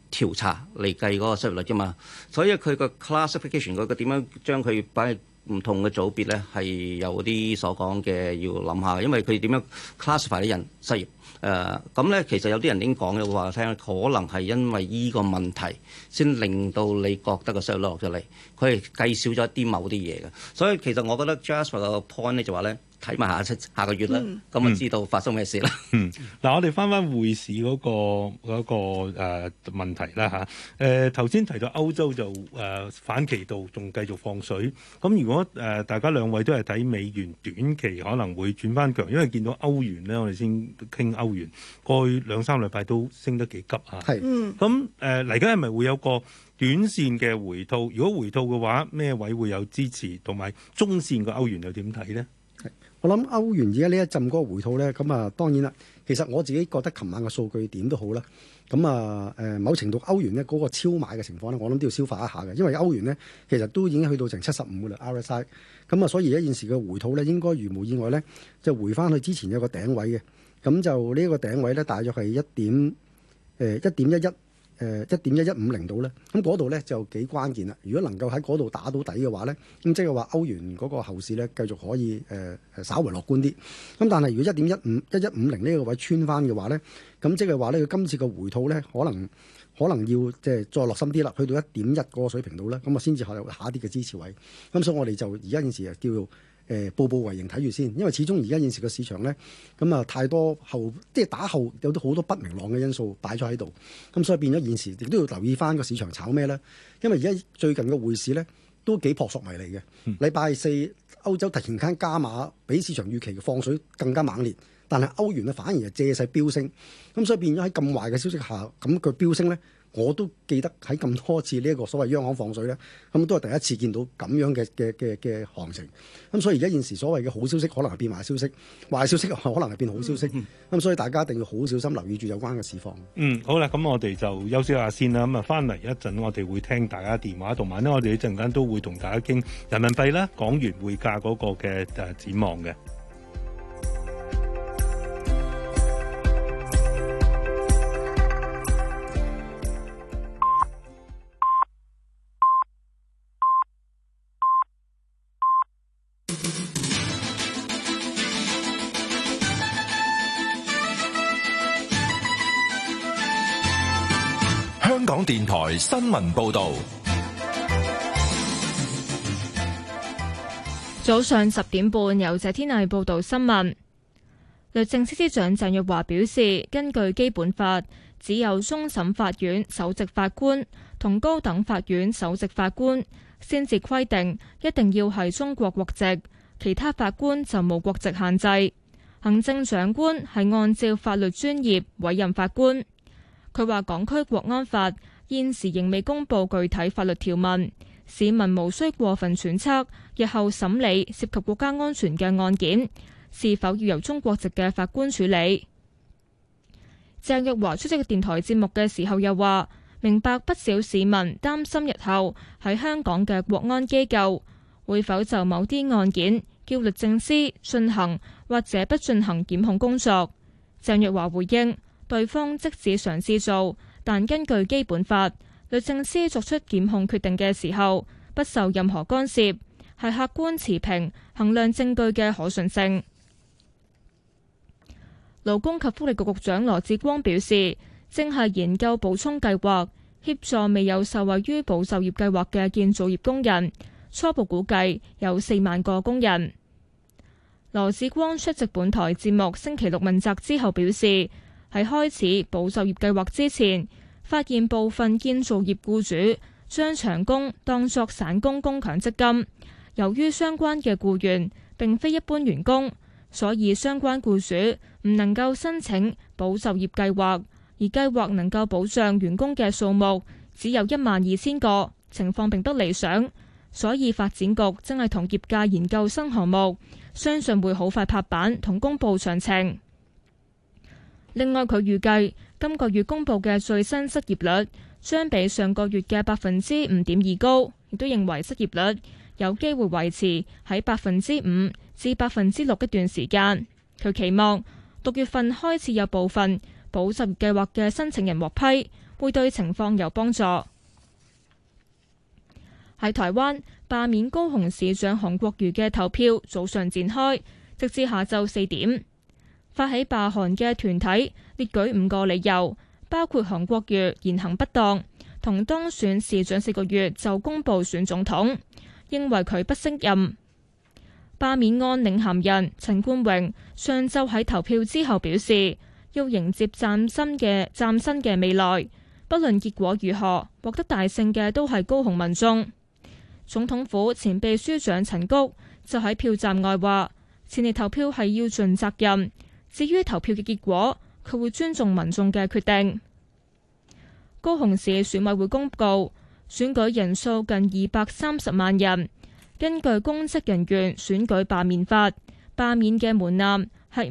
調查嚟計嗰個失業率啫嘛，所以佢個 classification 嗰個點樣將佢擺喺唔同嘅組別咧，係有啲所講嘅要諗下，因為佢點樣 classify 啲人失業。咁咧，其實有啲人已經講咗話聽，可能係因為依個問題先令到你覺得個失業率落咗嚟，佢係計少咗一啲某啲嘢嘅。所以其實我覺得 Jasper 個 point 咧就話咧，睇埋下個月啦，咁就知道發生咩事啦。
嗱，我哋翻匯市嗰個問題啦嚇。頭先提到歐洲就反其道，仲繼續放水。咁如果大家兩位都係睇美元短期可能會轉翻強，因為見到歐元咧，我哋先傾歐元，過去2-3禮拜都升得幾急啊。係。咁嚟緊係咪會有個短線嘅回吐？如果回吐嘅話，咩位會有支持？同埋中線個歐元又點睇呢？
我諗歐元而家呢一陣嗰個回吐咧，咁啊當然啦。其實我自己覺得琴晚嘅數據點都好啦。咁啊某程度歐元咧嗰個超買嘅情況咧，我諗都要消化一下嘅，因為歐元咧其實都已經去到成75嘅啦 RSI。咁啊，所以而家現時嘅回吐咧，應該如無意外咧，就回翻去之前有個頂位嘅。咁就呢個頂位咧，大約係1.1150度咧，咁嗰度咧就幾關鍵啦。如果能夠喺嗰度打到底嘅話咧，咁即係話歐元嗰個後市咧繼續可以稍為樂觀啲。咁但係如果1150呢個位穿翻嘅話咧，咁即係話咧佢今次嘅回吐咧可能要即係再落深啲啦，去到1.1嗰個水平度咧，咁啊先至有下一啲嘅支持位。咁所以我哋就而家現時就叫做步步為營睇住先，因為始終而家現時個市場咧，咁啊太多即係打後有好多不明朗嘅因素擺咗喺度，咁所以變咗現時亦都要留意翻個市場炒咩咧？因為而家最近嘅匯市咧都幾撲朔迷離嘅。禮拜四歐洲突然間加碼，比市場預期嘅放水更加猛烈，但係歐元咧反而係借勢飆升，咁所以變咗喺咁壞嘅消息下，咁佢飆升咧。我都記得喺咁多次呢一個所謂央行放水咧，咁都係第一次見到咁樣嘅行情。咁所以而家現時所謂嘅好消息可能係變壞消息，壞消息可能係變好消息。咁所以大家一定要好小心留意住有關嘅市況。
好啦，咁我哋就休息下先啦。咁啊，翻嚟一陣我哋會聽大家電話，同埋呢我哋一陣間都會同大家傾人民幣啦、港元匯價嗰個嘅展望嘅。
香港電台新聞報道。
早上10點半，由謝天麗報道新聞。律政司司長鄭若驊表示，根據基本法，只有終審法院首席法官同高等法院首席法官先至規定一定要係中國國籍，其他法官就冇國籍限制。行政長官係按照法律專業委任法官。佢話港區國安法現時仍未公布具體法律條文，市民無需過分揣測日後審理涉及國家安全嘅案件是否要由中國籍嘅法官處理。鄭若驊出席電台節目嘅時候又話，明白不少市民擔心日後喺香港嘅國安機構會否就某啲案件叫律政司進行或者不進行檢控工作。鄭若驊回應，對方即使嘗試做，但根據基本法，律政司作出檢控決定嘅時候，不受任何干涉，係客觀持平衡量證據嘅可信性。勞工及福利局局長羅致光表示，正係研究補充計劃，協助未有受惠於保就業計劃嘅建造業工人，初步估計有4萬個工人。羅致光出席本台節目星期六問責之後表示，喺開始保就業計劃之前，發現部分建造業僱主將長工當作散工供強積金，由於相關嘅僱員並非一般員工，所以相關僱主唔能夠申請保就業計劃，而計劃能夠保障員工嘅數目只有12000個，情況並不理想，所以發展局正係同業界研究新項目，相信會好快拍板同公佈詳情。另外，佢預計今個月公布嘅最新失業率將比上個月嘅5.2%高，亦都認為失業率有機會維持喺5%至6%一段時間。佢期望6月份開始有部分保就業計劃嘅申請人獲批， 會對情況有幫助。喺台灣，罷免高雄市長韓國瑜嘅投票早上展開，直至下晝4點。發起罷韓嘅團體列舉5個理由，包括韓國瑜言行不當，同當選市長4個月就公布選總統，認為佢不適任。罷免案領銜人陳冠榮上晝喺投票之後表示，要迎接嶄新嘅未來，不論結果如何，獲得大勝嘅都係高雄民眾。總統府前秘書長陳菊就喺票站外話，前嚟投票係要盡責任，至於投票嘅結果，佢會尊重民眾嘅決定。高雄市選委會公告，選舉人數近230萬人。根據公職人員選舉罷免法，罷免嘅門檻係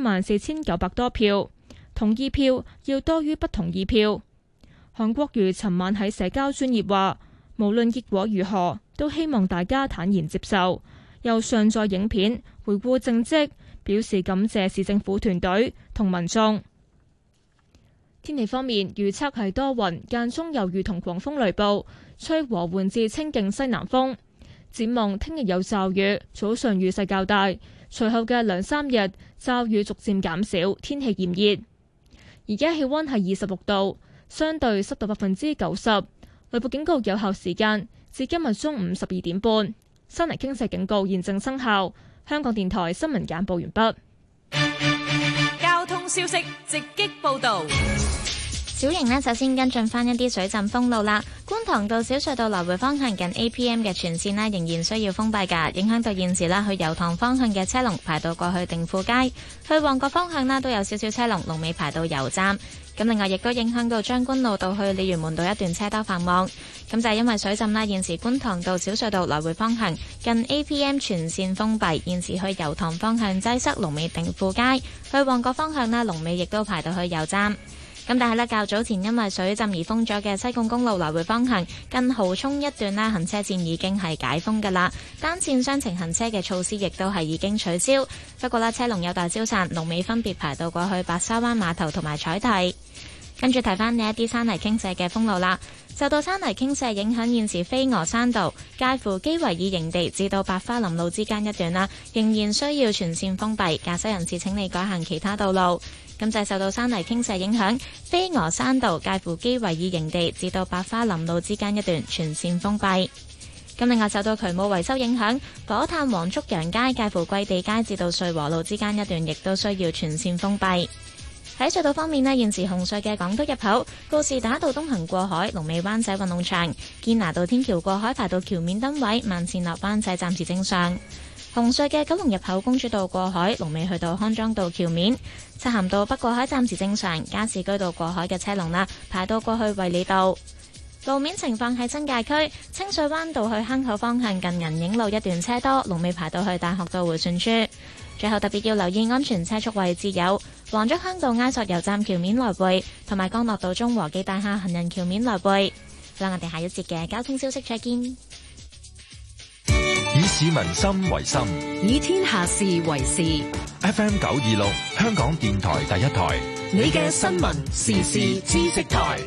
574900多票，同意票要多於不同意票。韓國瑜尋晚喺社交專頁話，無論結果如何，都希望大家坦然接受，又上載影片回顧政績，表示感謝市政府團隊同民眾。天氣方面，預測係多雲，間中有雨同狂風雷暴，吹和緩至清勁西南風。展望聽日有驟雨，早上雨勢較大，隨後嘅2-3日驟雨逐漸減少，天氣炎熱。而家氣溫係26度，相對濕度90%，雷暴警告有效時間至今日中午12點半。山泥傾瀉警告現正生效。香港電台新聞簡報完畢。
交通消息直擊報道。
小型呢，首先跟進翻一啲水浸封路啦。觀塘道小隧道來回方向近 APM 嘅全線呢，仍然需要封閉㗎，影響到現時啦去油塘方向嘅車龍排到過去定富街，去旺角方向呢都有少少車龍，龍尾排到油站。咁另外亦都影響到將軍路道去鯉魚門道一段車多繁忙。咁就係因為水浸啦，現時觀塘道小隧道來回方向近 APM 全線封閉，現時去油塘方向擠塞，龍尾定富街，去旺角方向呢，龍尾亦都排到去油站。咁但係呢，較早前因為水浸而封咗嘅西貢公路來回方向近蠔涌一段啦，行車線已經係解封㗎啦，單線雙程行車嘅措施亦都係已經取消。不過啦，車龍有待消散，龍尾分別排到過去白沙灣碼頭同埋彩堤。跟住提翻呢一啲山泥傾瀉嘅封路啦，受到山泥傾瀉影響，現時飛鵝山道介乎基維爾營地至到白花林路之間一段啦，仍然需要全線封閉，駕駛人士請你改行其他道路。咁就係受到山泥傾瀉影響，飛鵝山道介乎基維爾營地至到白花林路之間一段全線封閉。咁另外受到渠務維修影響，火炭黃竹洋街介乎桂地街至到瑞和路之間一段亦都需要全線封閉。喺隧道方面呢，現時紅隧嘅港島入口告士打道東行過海，龍尾灣仔運動場，堅拿道天橋過海排到橋面燈位，慢線落灣仔暫時正常。紅隧嘅九龍入口公主道過海，龍尾去到康莊道橋面，漆咸道北過海暫時正常，加士居道過海嘅車龍啦，排到過去衛理道。路面情況喺新界區清水灣道去坑口方向近銀影路一段車多，龍尾排到去大學道迴旋處。最後特別要留意安全車速位置有黃竹坑道埃索油站橋面來回，同埋江樂道中和記大廈行人橋面來回。好啦，我哋下一節嘅交通消息再見。
以市民心為心，
以天下事為事。
FM 926，香港電台第一台，
你嘅新聞時事知識台。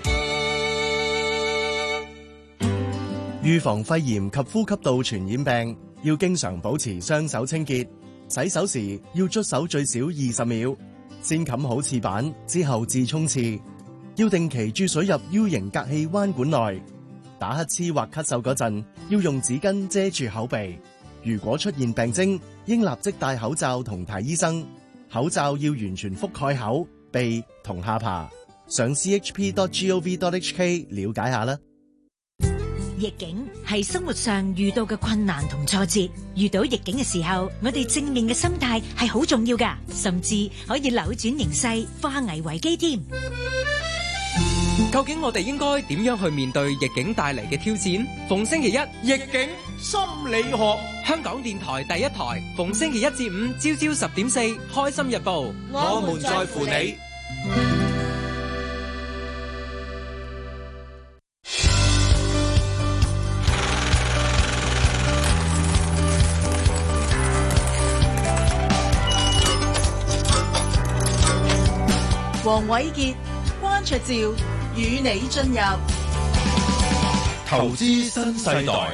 預防肺炎及呼吸道傳染病，要經常保持雙手清潔。洗手時要捽手最少20秒，先冚好廁板，之後至沖廁。要定期注水入 U 型隔氣彎管內。打乞嗤或咳嗽嗰陣，要用紙巾遮住口鼻。如果出現病徵，應立即戴口罩同睇醫生。口罩要完全覆蓋口、鼻同下巴。上 chp.gov.hk 了解下啦。
逆境係生活上遇到嘅困難同挫折，遇到逆境嘅時候，我哋正面嘅心態係好重要㗎，甚至可以扭轉形勢，化危為機添。
究竟我哋應該點樣去面對逆境帶嚟嘅挑戰？逢星期一逆境心理學，香港電台第一台，逢星期一至五朝朝10.4，開心日報，我們在乎你。
黃瑋傑、關焯照與你進入
投資新世代。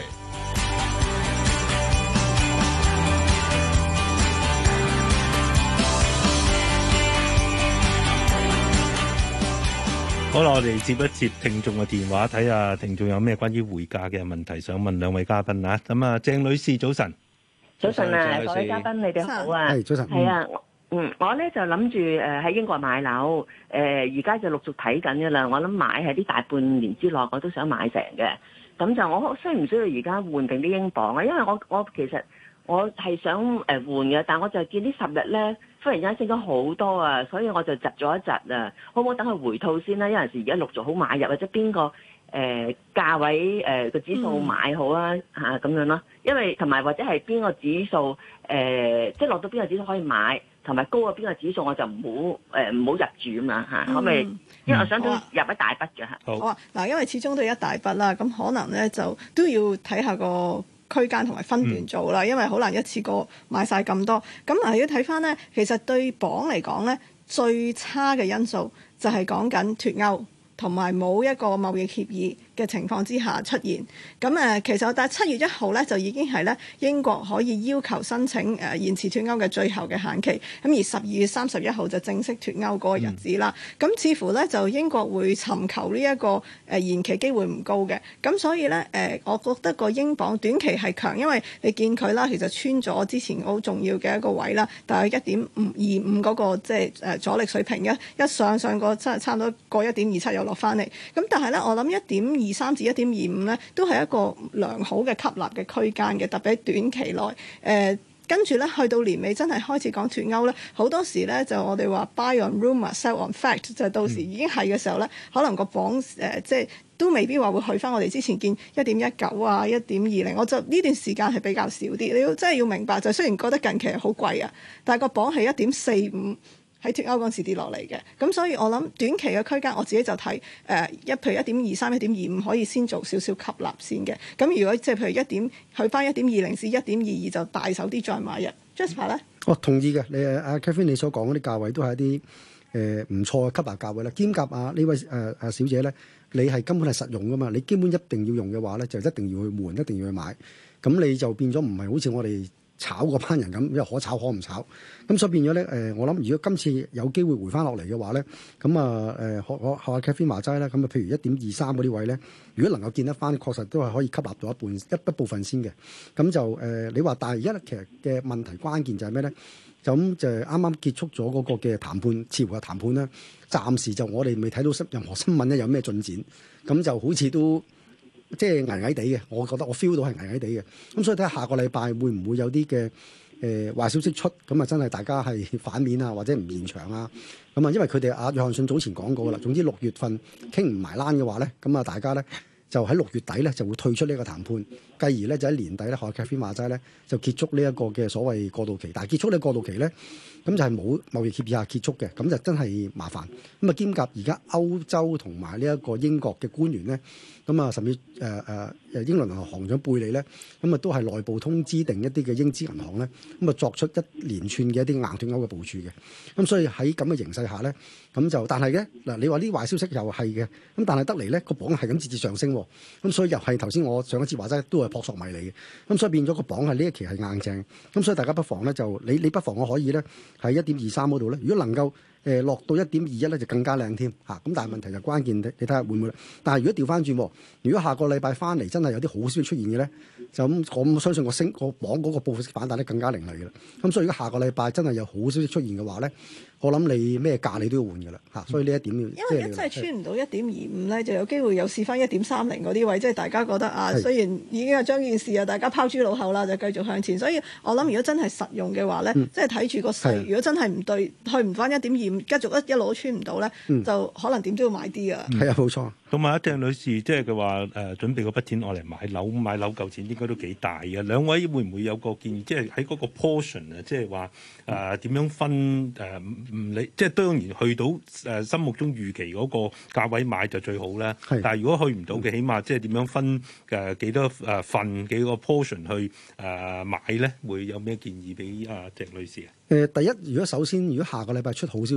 好啦，我哋接一接聽眾嘅電話，睇下聽眾有咩關於匯價嘅問題想問兩位嘉賓啊。咁啊，鄭女士早晨。
早晨啊，各位嘉賓，你哋好啊。
係早晨。
係啊，我咧就諗住喺英國買樓，而家就陸續睇緊嘅啦。我諗買喺啲大半年之內，我都想買成嘅。咁就我需唔需要而家換定啲英鎊啊？因為我其實我係想換嘅，但我就見呢10日咧，忽然間升咗好多啊，所以我就窒咗一窒啊。可唔可以等佢回吐先啦？有陣時而家陸續好買入，或者邊個價位個指數買好啊嚇咁樣咯。因為同埋或者係邊個指數即係落到邊個指數可以買，同埋高過邊個指數我就唔好入住啊嘛嚇。可唔可以？因為我想入一大筆嘅嚇。
好啊，嗱，因為始終都係一大筆啦，咁可能咧就都要睇下個區間同埋分段做啦，因為好難一次過買晒咁多。咁嗱，要睇翻咧，其實對鎊嚟講咧，最差嘅因素就係講緊脫歐同埋冇一個貿易協議嘅情況之下出現。咁其實但係7月1號咧就已經係咧英國可以要求申請延遲脫歐嘅最後嘅限期。咁而12月31號就正式脫歐嗰個日子啦。咁似乎咧就英國會尋求呢一個延期機會唔高嘅。咁所以咧我覺得個英鎊短期係強，因為你見佢啦，其實穿咗之前好重要嘅一個位啦，大概1.25嗰個即係阻力水平一上個差唔多過1.27又落翻嚟。咁但係咧，我諗1.23至1.25咧都係一個良好嘅吸納嘅區間嘅，特別喺短期內。跟住咧，去到年尾真係開始講脫歐咧，好多時咧就我哋話 buy on rumour, sell on fact， 就到時已經係嘅時候咧，可能個鎊即係都未必話會去翻我哋之前見1.19啊、1.20，我就呢段時間係比較少啲。你真係要明白，就雖然覺得近期係好貴啊，但係個鎊係1.45。喺脫歐嗰陣時跌落嚟嘅，咁所以我諗短期嘅區間我自己就睇譬如1.23、1.25可以先做少少吸納先嘅。咁如果即係譬如去翻1.20至1.22就大手啲再買入。Jasper 咧，
我同意嘅。你阿 Catherine 你所講嗰啲價位都係一啲唔錯嘅吸納價位啦。兼夾呢位小姐咧，你係根本係實用噶嘛？你基本一定要用嘅話咧，就一定要去換，一定要去買。咁你就變咗唔係好似我哋炒嗰班人咁，因為可炒可唔炒，咁所以變咗咧我諗如果今次有機會回翻落嚟嘅話咧，咁學阿 Catherine 話齋啦，咁譬如1.23嗰啲位咧，如果能夠見得翻，確實都係可以吸納到一部分先嘅。咁就你話，但係而家其實嘅問題關鍵就係咩咧？就啱啱結束咗嗰個嘅談判，似乎嘅談判咧，暫時就我哋未睇到任何新聞咧有咩進展，咁就好似都即係危危地嘅，我覺得我 feel 到係危危地嘅。咁所以睇下下個禮拜會唔會有啲嘅壞消息出，咁啊真係大家係反面啊，或者唔現場啊。咁啊，因為佢哋約翰遜早前講過啦，總之6月份傾唔埋欄嘅話咧，咁啊大家咧就喺6月底咧就會退出呢個談判，繼而咧就喺年底咧學 Catherine 話齋咧就結束呢一個嘅所謂過渡期。但係結束呢個過渡期咧，咁就係冇貿易協議下結束嘅，咁就真係麻煩。咁啊兼夾而家歐洲同埋呢一個英國嘅官員咧，咁啊甚至英倫銀行行長貝利咧，咁啊都係內部通知定一啲嘅英資銀行咧，咁啊作出一連串嘅一啲硬脫歐嘅部署嘅。咁所以喺咁嘅形勢下咧，咁就但係咧嗱，你話呢壞消息又係嘅，咁但係得嚟咧個鎊係咁節節上升，咁所以又係頭先我上一次話齋都係撲朔迷離嘅。咁所以變咗個鎊係呢一期係硬淨，咁所以大家不妨咧就你不妨我可以咧喺1.23嗰度咧，如果能夠落到1.21咧就更加靚添嚇。咁但係問題就關鍵，你睇下會唔會？但係如果調翻轉，如果下個禮拜翻嚟真係有啲好消息出現嘅咧，就咁我相信個鎊嗰個報復式反彈咧更加凌厲嘅啦。咁所以如果下個禮拜真係有好消息出現嘅話咧，我諗你咩價你都要換嘅啦嚇。所以呢一點要因
為一真係穿唔到1.25咧，就有機會又試翻1.30嗰啲位，即係大家覺得啊，雖然已經係將件事啊大家拋諸腦後啦，就繼續向前。所以我諗如果真係實用嘅話咧，即係睇住個勢，如果真係唔對，去唔翻1.25，繼續一路都穿唔到咧，就可能點都要買啲啊。
係啊，冇錯。
同埋鄭女士，即係佢話準備嗰筆錢攞嚟買樓嚿錢應該都幾大嘅。兩位會唔會有個建議，即係喺嗰個 portion 啊，即係話點樣分唔理，即係當然去到心目中預期嗰個價位買就最好啦。但係如果去唔到嘅，起碼即係點樣分幾多份幾個 portion 去買咧？會有咩建議俾鄭女士啊？
第一，如果首先如果下個禮拜出好消息，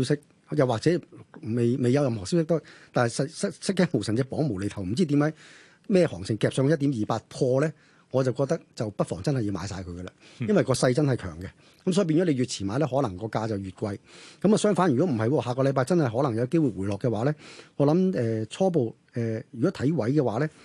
又或者未有任何消息都，但係失驚無神隻綁無厘頭，唔知點解咩行情夾上1.28破咧，我就覺得就不妨真係要買晒佢噶啦，因為個勢真係強嘅。咁所以變咗你越遲買咧，可能個價就越貴。咁啊相反，如果唔係喎，下個禮拜真係可能有機會回落嘅話咧，我諗初步如果睇位嘅話咧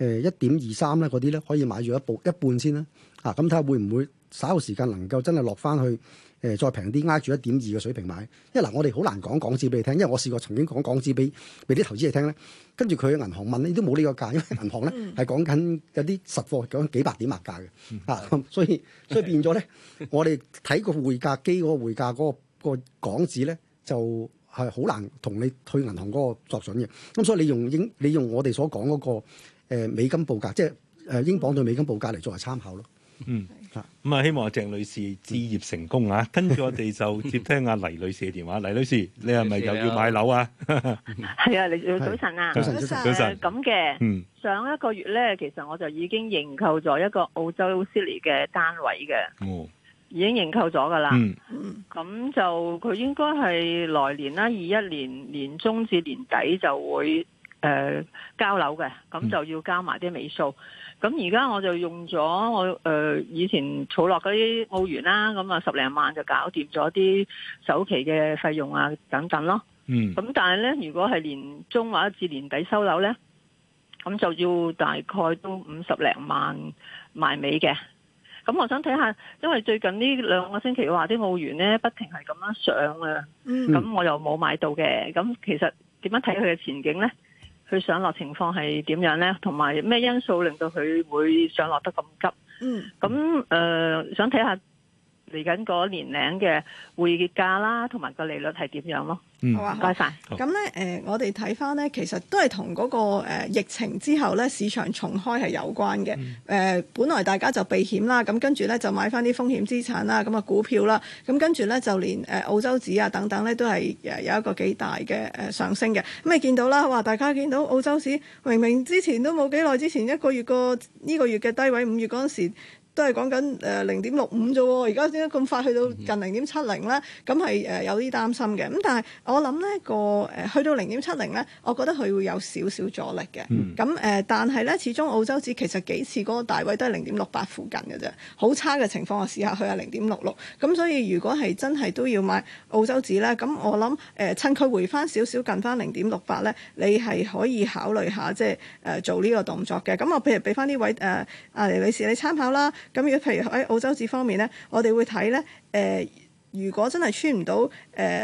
，1.23咧嗰啲咧可以買住一半先啦。咁睇下會唔會稍後時間能夠真係落翻去再平啲，挨住1.2嘅水平買。因為嗱，我哋好難講港紙俾你聽，因為我試過曾經講港紙俾啲投資者聽咧，跟住佢嘅銀行問你都冇呢個價，因為銀行咧係講緊有啲實貨講幾百點賣價嘅，所以變咗咧，我哋睇個匯價機嗰個匯價嗰個港紙咧就係好難同你去銀行嗰個作準嘅。咁所以你用我哋所講嗰個美金報價，即係英鎊對美金報價嚟作為參考咯。
咁啊，希望阿鄭女士置業成功啊！跟住我哋就接聽阿黎女士嘅電話。黎女士，你係咪又要買樓啊？
係啊，你早晨啊，
早晨。
咁嘅，上一個月咧，其實我就已經認購咗一個澳洲悉尼嘅單位嘅，已經認購咗噶啦。咁就佢應該係來年啦，21年年中至年底就會交樓嘅，咁就要交埋啲尾數。咁而家我就用咗我以前儲落嗰啲澳元啦，咁啊10零萬就搞掂咗啲首期嘅費用啊等等咯。咁但係咧，如果係年中或者至年底收樓咧，咁就要大概都50零萬埋尾嘅。咁我想睇下，因為最近呢2個星期話啲澳元咧不停係咁樣上啊，咁我又冇買到嘅。咁其實點樣睇佢嘅前景咧？佢上落情況係點樣咧？同埋咩因素令到佢會上落得咁急？咁想睇下嚟緊嗰年齡嘅匯價啦，同埋個利率係點樣咯？好啊，唔該晒。
咁咧我哋睇翻咧，其實都係同嗰個疫情之後咧市場重開係有關嘅。本來大家就避險啦，咁跟住咧就買翻啲風險資產啦，咁啊股票啦，咁跟住咧就連澳洲紙啊等等咧都係有一個幾大嘅上升嘅。咁你見到啦，話大家見到澳洲紙明明之前都冇幾耐之前一個月呢個月嘅低位，5月嗰陣時都係講緊0.65啫喎，而家點解咁快去到近0.70咧？咁係有啲擔心嘅。咁但係我諗咧去到0.70咧，我覺得佢會有少少阻力嘅。咁但係咧，始終澳洲紙其實幾次嗰個大位都係0.68附近嘅啫，好差嘅情況我試下去下0.66。咁所以如果係真係都要買澳洲紙咧，咁我諗趁佢回翻少少近翻0.68咧，你係可以考慮下即係做呢個動作嘅。咁我譬如俾翻呢位阿黎女士你參考啦。咁如果譬如喺澳洲紙方面咧，我哋會睇咧如果真係穿唔到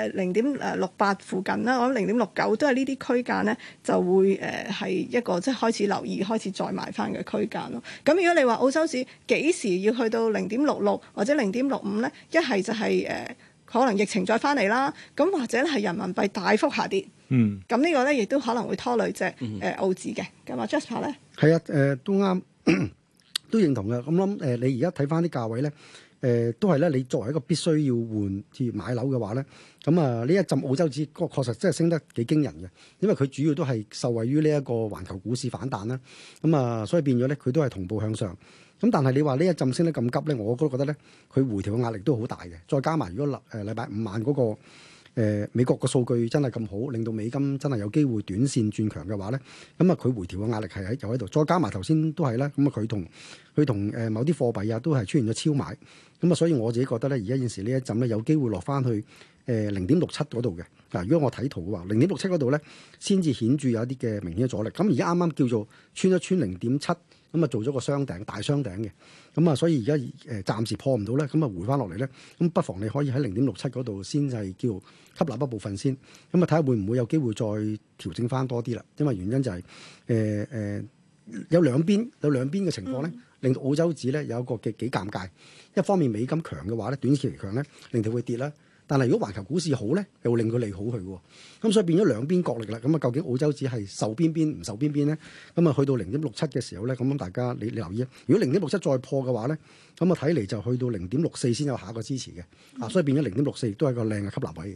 0.68附近啦，我諗0.69都係呢啲區間咧，就會係一個即係開始留意、開始再買翻嘅區間咯。咁如果你話澳洲紙幾時要去到0.66或者0.65咧，一係就係可能疫情再翻嚟啦，咁或者係人民幣大幅下跌。咁呢個咧亦都可能會拖累隻澳紙嘅。咁啊 Jasper 咧，
係啊，都啱。都認同嘅，咁諗你而家睇翻啲價位咧，都係咧，你作為一個必須要換至買樓嘅話咧，咁啊呢一陣澳洲紙確實真係升得幾驚人嘅，因為佢主要都係受惠於呢一個環球股市反彈啦，咁啊所以變咗咧佢都係同步向上，咁但係你話呢一陣升得咁急咧，我都覺得咧佢回調嘅壓力都好大嘅，再加埋如果禮拜5晚嗰個美國個數據真係咁好，令到美金真係有機會短線轉強嘅話咧，咁啊佢回調嘅壓力係又喺度，再加埋頭先都係啦，咁啊佢同某啲貨幣啊都係出現咗超買，咁啊所以我自己覺得咧，而家現時呢一陣咧有機會落翻去0.67嗰度嘅。嗱，如果我睇圖嘅話，0.67嗰度咧先至顯著有一啲嘅明顯嘅阻力。咁而家啱啱叫做穿一穿0.7，咁啊做咗個雙頂大雙頂嘅，咁啊所以而家暫時破唔到咧，咁啊回翻落嚟咧，咁不妨你可以喺0.67嗰度先係叫吸納一部分先，咁啊睇下會唔會有機會再調整翻多啲啦。因為原因就係有兩邊嘅情況咧，令到澳洲紙咧有一個幾尷尬。一方面美金強嘅話咧，短期嚟強咧，令到會跌啦。但係如果環球股市好咧，又會令佢利好佢喎。咁所以變咗兩邊角力啦。咁啊，究竟澳洲紙係受邊邊唔受邊邊咧？咁啊，去到0.67嘅時候咧，咁大家你留意啊。如果0.67再破嘅話咧，咁啊睇嚟就去到0.64先有下一個支持嘅。所以變咗0.64亦都係一個靚嘅吸納位嘅。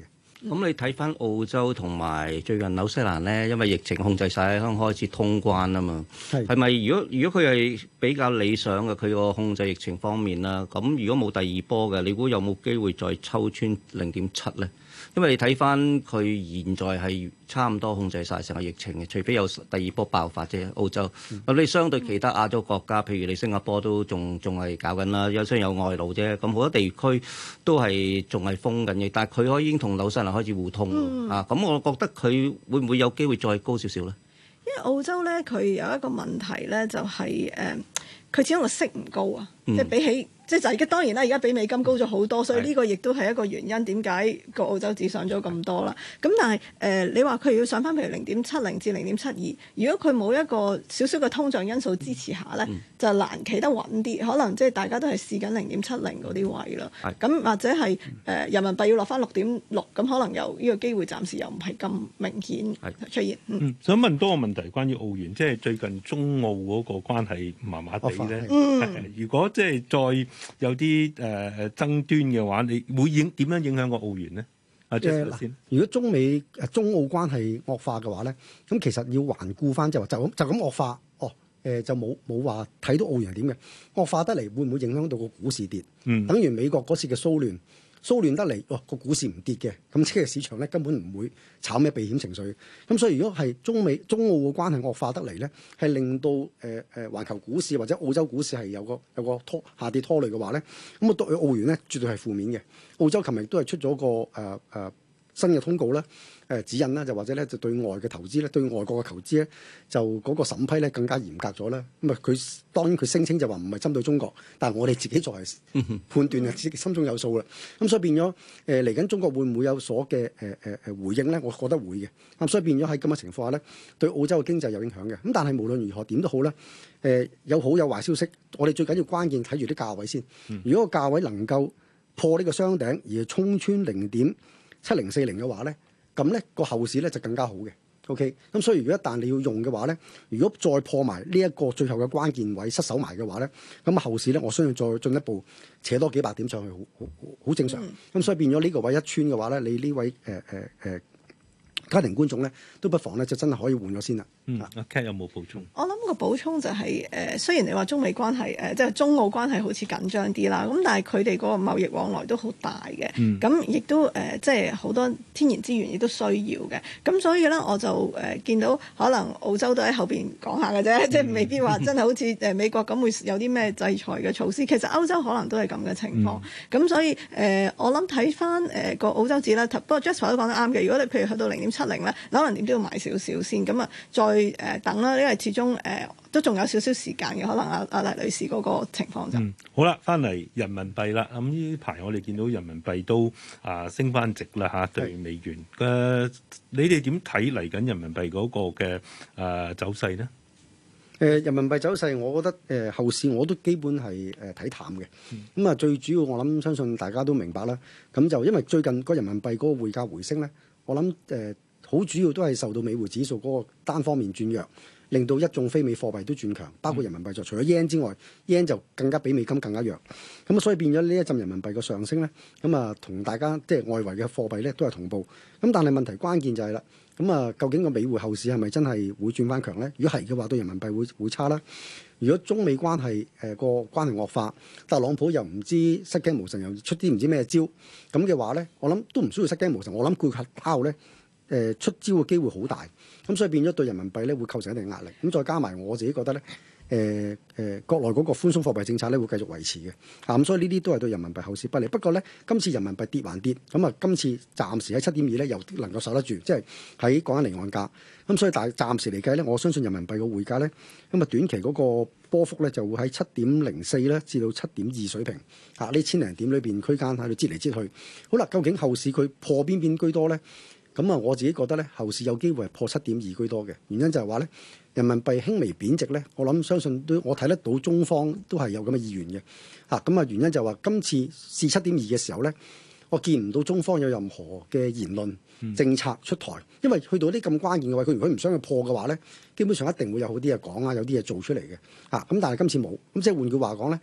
咁你睇翻澳洲同埋最近紐西蘭咧，因為疫情控制晒，香港開始通關啊嘛。係咪如果佢係比較理想嘅，佢個控制疫情方面啦，咁如果冇第二波嘅，你估有冇機會再抽穿0.7咧？因為你睇翻佢現在係差唔多控制晒成個疫情嘅，除非有第二波爆發啫。澳洲咁你相對其他亞洲國家，譬如你新加坡都仲係搞緊啦，雖然有外勞啫，咁好多地區都係仲係封緊嘅，但係佢可以已經同紐西蘭開始互通啊。咁我覺得佢會唔會有機會再高少少咧？
因為澳洲咧，佢有一個問題咧，就係佢始終個息唔高啊，即係比起。即係就而家當然啦，而家比美金高咗好多，所以呢個亦都係一個原因，點解個澳洲紙上咗咁多啦？咁但係你話佢要上翻譬如0.70至0.72，如果佢冇一個少少嘅通脹因素支持下咧，就難企得穩啲。可能即係大家都係試緊0.70嗰啲位啦。咁或者係人民幣要落翻6.6，咁可能又呢個機會暫時又唔係咁明顯出現。
想問多個問題關於澳元，即係最近中澳嗰個關係麻麻地咧。如果即係再有啲爭端嘅話，你會點樣影響個澳元呢？
如果中澳關係惡化嘅話咧，咁其實要環顧翻就咁惡化，就冇話睇到澳元係點嘅惡化得嚟，會唔會影響到個股市跌？等於美國嗰次嘅騷亂得嚟，個股市唔跌嘅，咁即係市場咧根本唔會炒咩避險情緒。咁所以如果係中澳嘅關係惡化得嚟咧，係令到環球股市或者澳洲股市係有個下跌拖累嘅話咧，咁啊對澳元咧絕對係負面嘅。澳洲琴日都係出咗個新嘅通告啦。指引啦，就或者咧就對外嘅投資咧，對外國嘅投資咧，就嗰個審批咧更加嚴格咗啦。咁啊，佢當然佢聲稱就話唔係針對中國，但係我哋自己作為判斷啊，自己心中有數啦。咁所以變咗嚟緊中國會唔會有所嘅回應咧？我覺得會嘅。咁所以變咗喺咁嘅情況下咧，對澳洲嘅經濟有影響嘅。咁但係無論如何點都好咧，有好有壞消息。我哋最緊要關鍵睇住啲價位先。如果個價位能夠破呢個雙頂而衝穿0.7040嘅話咧，咁咧個後市咧就更加好嘅。OK， 咁所以如果一旦你要用嘅話咧，如果再破埋呢一個最後嘅關鍵位失守埋嘅話咧，咁後市咧我相信再進一步扯多幾百點上去，好正常。咁所以變咗呢個位一穿嘅話咧，你呢位家庭觀眾咧，都不妨咧就真係可以換咗先啦。
阿 Cat 有冇補充？
我諗個補充就係雖然你話中美關係即係中澳關係好似緊張啲啦，咁但係佢哋嗰個貿易往來都好大嘅，咁亦都即係好多天然資源亦都需要嘅，咁所以咧我就見到可能澳洲都喺後邊講下嘅啫，即係未必話真係好似美國咁會有啲咩制裁嘅措施。其實歐洲可能都係咁嘅情況，咁所以我諗睇翻個澳洲紙啦，不過 Jasper 都講得啱嘅。如果你譬如去到0.70咧，可能點都要買少少先，咁啊再等啦，因為始終都仲有少少時間嘅，可能阿黎女士嗰個情況就
好啦。翻嚟人民幣啦，咁呢排我哋見到人民幣都升翻值啦嚇，對美元你哋點睇嚟緊人民幣嗰個嘅走勢呢？
人民幣走勢，我覺得後市我都基本係睇淡嘅。咁啊，最主要我諗相信大家都明白啦。咁就因為最近個人民幣嗰個匯價回升咧，我諗好主要都係受到美匯指數嗰個單方面轉弱，令到一眾非美貨幣都轉強，包括人民幣。就除咗 yen 之外，yen 就更加比美金更加弱。咁所以變咗呢一陣人民幣嘅上升咧，咁啊同大家即係外圍嘅貨幣咧都係同步。咁但係問題關鍵就係啦，咁啊究竟個美匯後市係咪真係會轉翻強咧？如果係嘅話，對人民幣會差啦。如果中美關係個關係惡化，特朗普又唔知失驚無神，又出啲唔知咩招咁嘅話咧，我諗都唔需要失驚無神。我諗佢靠咧。出招嘅機會好大，咁所以變咗對人民幣咧會構成一定壓力。咁再加埋我自己覺得咧，國內嗰個寬鬆貨幣政策咧會繼續維持嘅。咁所以呢啲都係對人民幣後市不利。不過咧，今次人民幣跌還跌，咁啊今次暫時喺7.2咧又能夠守得住，即係喺講緊離岸價。咁所以但係暫時嚟計咧，我相信人民幣嘅匯價咧，咁啊短期嗰個波幅咧就會喺7.04咧至到7.2水平。呢1000零點裏邊區間喺度擠嚟擠去。好啦，究竟後市佢破邊居多咧？咁啊，我自己覺得咧，後市有機會係破7.2居多嘅。原因就係話咧，人民幣輕微貶值咧，我諗相信都我睇得到中方都係有咁嘅意願嘅。咁啊，原因就係話今次試7.2嘅時候咧，我見唔到中方有任何嘅言論政策出台，因為去到啲咁關鍵嘅位，佢如果唔想去破嘅話咧，基本上一定會有好啲嘢講啊，有啲嘢做出嚟嘅。咁但係今次冇，咁即係換句話講咧，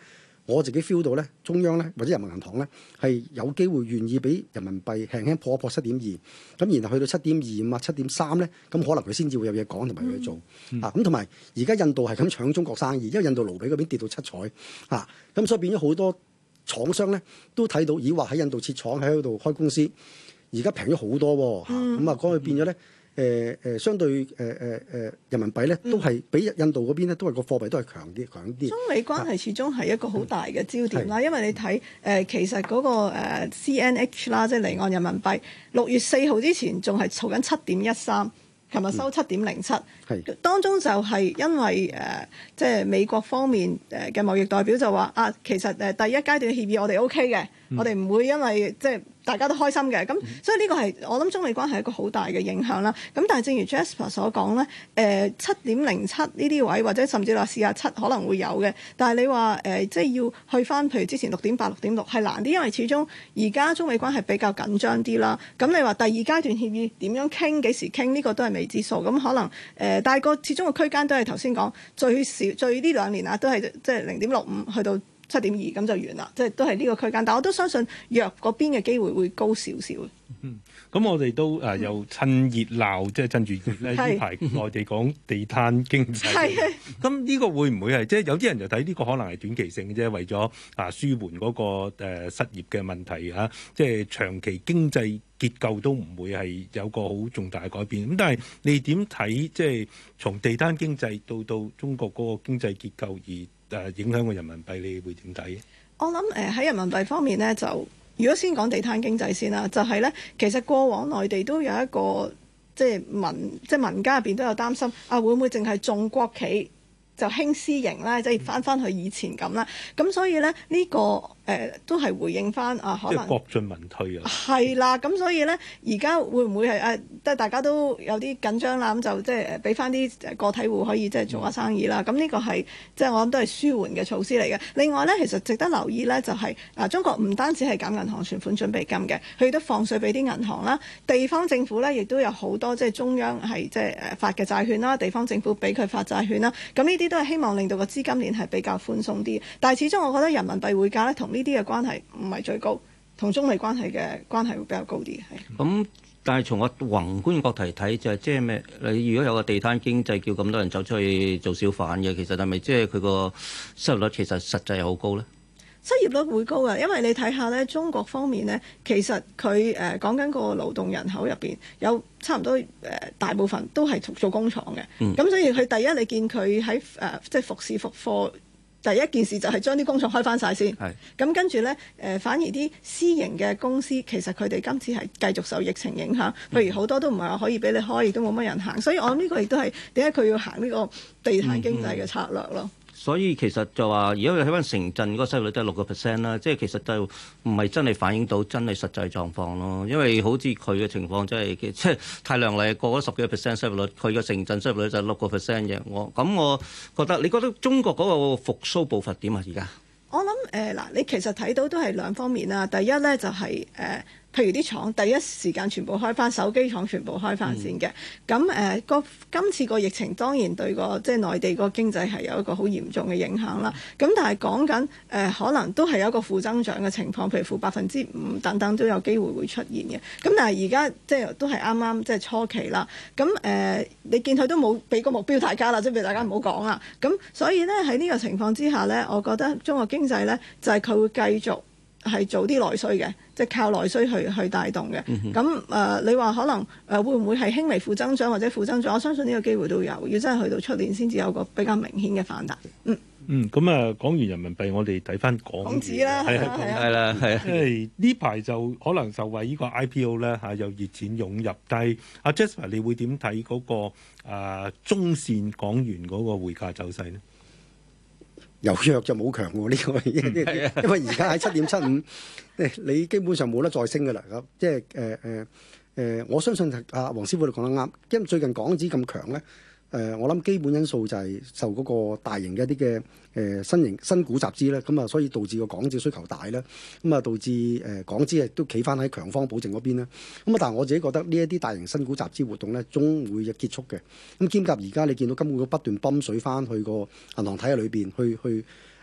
我自己 feel 到咧，中央咧或者人民銀行咧係有機會願意俾人民幣輕輕破一破7.2，咁然後去到7.25啊、7.3咧，咁可能佢先至會有嘢講同埋有嘢做啊。咁同埋而家印度係咁搶中國生意，因為印度盧比嗰邊跌到七彩啊，咁所以變咗好多廠商咧都睇到，以話喺印度設廠喺嗰度開公司，而家平咗好多喎。咁啊，講佢變咗咧。相對人民幣咧，都係比印度嗰邊咧，都係個貨幣都係強啲。
中美關係始終係一個好大嘅焦點啦，因為你睇其實嗰個CNH 啦，即係離岸人民幣6月4號之前仲係嘈緊7.13，琴日收7.07，當中就係因為即係美國方面嘅貿易代表就話啊，其實第一階段協議我哋 OK 嘅，我哋唔會因為即係大家都開心嘅，咁所以呢個係我諗中美關係一個好大嘅影響啦。咁但係正如 Jasper 所講咧，7.07呢啲位或者甚至話試下7可能會有嘅，但係你話即係要去翻譬如之前6.8、6.6係難啲，因為始終而家中美關係比較緊張啲啦。咁你話第二階段協議點樣傾、幾時傾呢個都係未知數。咁可能但係個始終個區間都係頭先講最少最呢2年啊，都係即係0.65去到7.2咁就完啦，即係都係呢個區間。但我都相信弱嗰邊嘅機會會高少少。
咁我哋都又趁熱鬧，即係趁住熱咧，呢排內地講地攤經濟。咁呢個會唔會係即係有啲人就睇呢個可能係短期性嘅啫，為咗舒緩嗰個失業嘅問題嚇，即係長期經濟結構都唔會係有個好重大嘅改變。咁但係你點睇？即係從地攤經濟到中國嗰個經濟結構而影響個人民幣，你會點睇？
我諗喺人民幣方面咧，就如果先講地攤經濟先啦，就係咧，其實過往內地都有一個即係民間入邊都有擔心啊，會唔會淨係重國企就輕私營咧？即係翻去以前咁啦。咁所以咧呢個都係回應翻啊，可能
國進民退啊。
係啦，咁所以咧而家會唔會係即係大家都有啲緊張啦？咁就即係俾翻啲個體戶可以即係做下生意啦。咁呢個係即係我諗都係舒緩嘅措施嚟嘅。另外咧，其實值得留意咧就係中國唔單止係減銀行存款準備金嘅，佢亦都放水俾啲銀行啦。地方政府咧亦都有好多即係中央係即係發嘅債券啦，地方政府俾佢發債券啦。咁呢啲都係希望令到個資金鏈係比較寬鬆啲。但係始終我覺得人民幣匯價咧同呢啲嘅關係唔係最高，同中美關係嘅關係會比較高啲。
咁但係從個宏觀角度嚟睇，就係即係咩？你如果有個地攤經濟，叫咁多人走出去做小販嘅，其實係咪即係佢個失業率其實實際係好高咧？
失業率會高㗎，因為你睇下咧，中國方面咧，其實佢講緊個勞動人口入邊有差唔多大部分都係做工廠嘅。咁所以佢第一你見佢喺即係復市復課。第一件事就係將啲工廠開翻晒先，咁跟住呢，反而啲私營嘅公司其實佢哋今次係繼續受疫情影響，譬如好多都唔係話可以俾你開，亦都冇乜人行，所以我諗呢個亦都係點解佢要行呢個地攤經濟嘅策略咯。
所以其實就話，如果你睇翻城鎮嗰個失業率都係6%啦，即係其實就唔係真係反映到真係實際狀況咯。因為好似佢嘅情況真係即係太亮麗，過咗10幾個%失業率，佢嘅城鎮失業率就係6%嘅。我覺得，你覺得中國嗰個復甦步伐點啊？而家
我諗嗱，你其實睇到都係兩方面啦。第一咧就係譬如啲廠第一時間全部開翻，手機廠全部開翻先嘅。咁今次個疫情當然對個即係內地個經濟係有一個好嚴重嘅影響啦。咁但係講緊可能都係有一個負增長嘅情況，譬如負5%等等都有機會會出現嘅。咁但係而家即係都係啱啱即係初期啦。咁你見佢都冇俾個目標大家啦，即係俾大家唔好講啦。咁所以咧喺呢個情況之下咧，我覺得中國經濟咧就係佢會繼續係做啲內需嘅，即係靠內需去帶動嘅。咁你話可能會唔會係輕微負增長或者負增長？我相信呢個機會都有，要真係去到出年先至有個比較明顯嘅反彈。
咁講完人民幣，我哋睇翻港紙啦，
係啦，
因為呢排就可能受惠呢個 IPO 咧有熱錢湧入，但係阿 Jasper 你會點睇嗰個中線港元嗰個匯價走勢呢？
由弱就冇強喎，呢個因為而家喺7.75，你基本上冇得再升㗎啦。咁即係我相信阿黃師傅你講得啱，因為最近港紙咁強咧。我諗基本因素就係受嗰個大型嘅一啲嘅新股集資咧，咁啊，所以導致個港紙需求大啦，咁啊導致港紙亦都企翻喺強方保證嗰邊啦。咁啊，但係我自己覺得呢一啲大型新股集資活動咧，終會結束嘅。咁兼夾而家你見到金管局不斷泵水翻去個銀行體系裏邊，去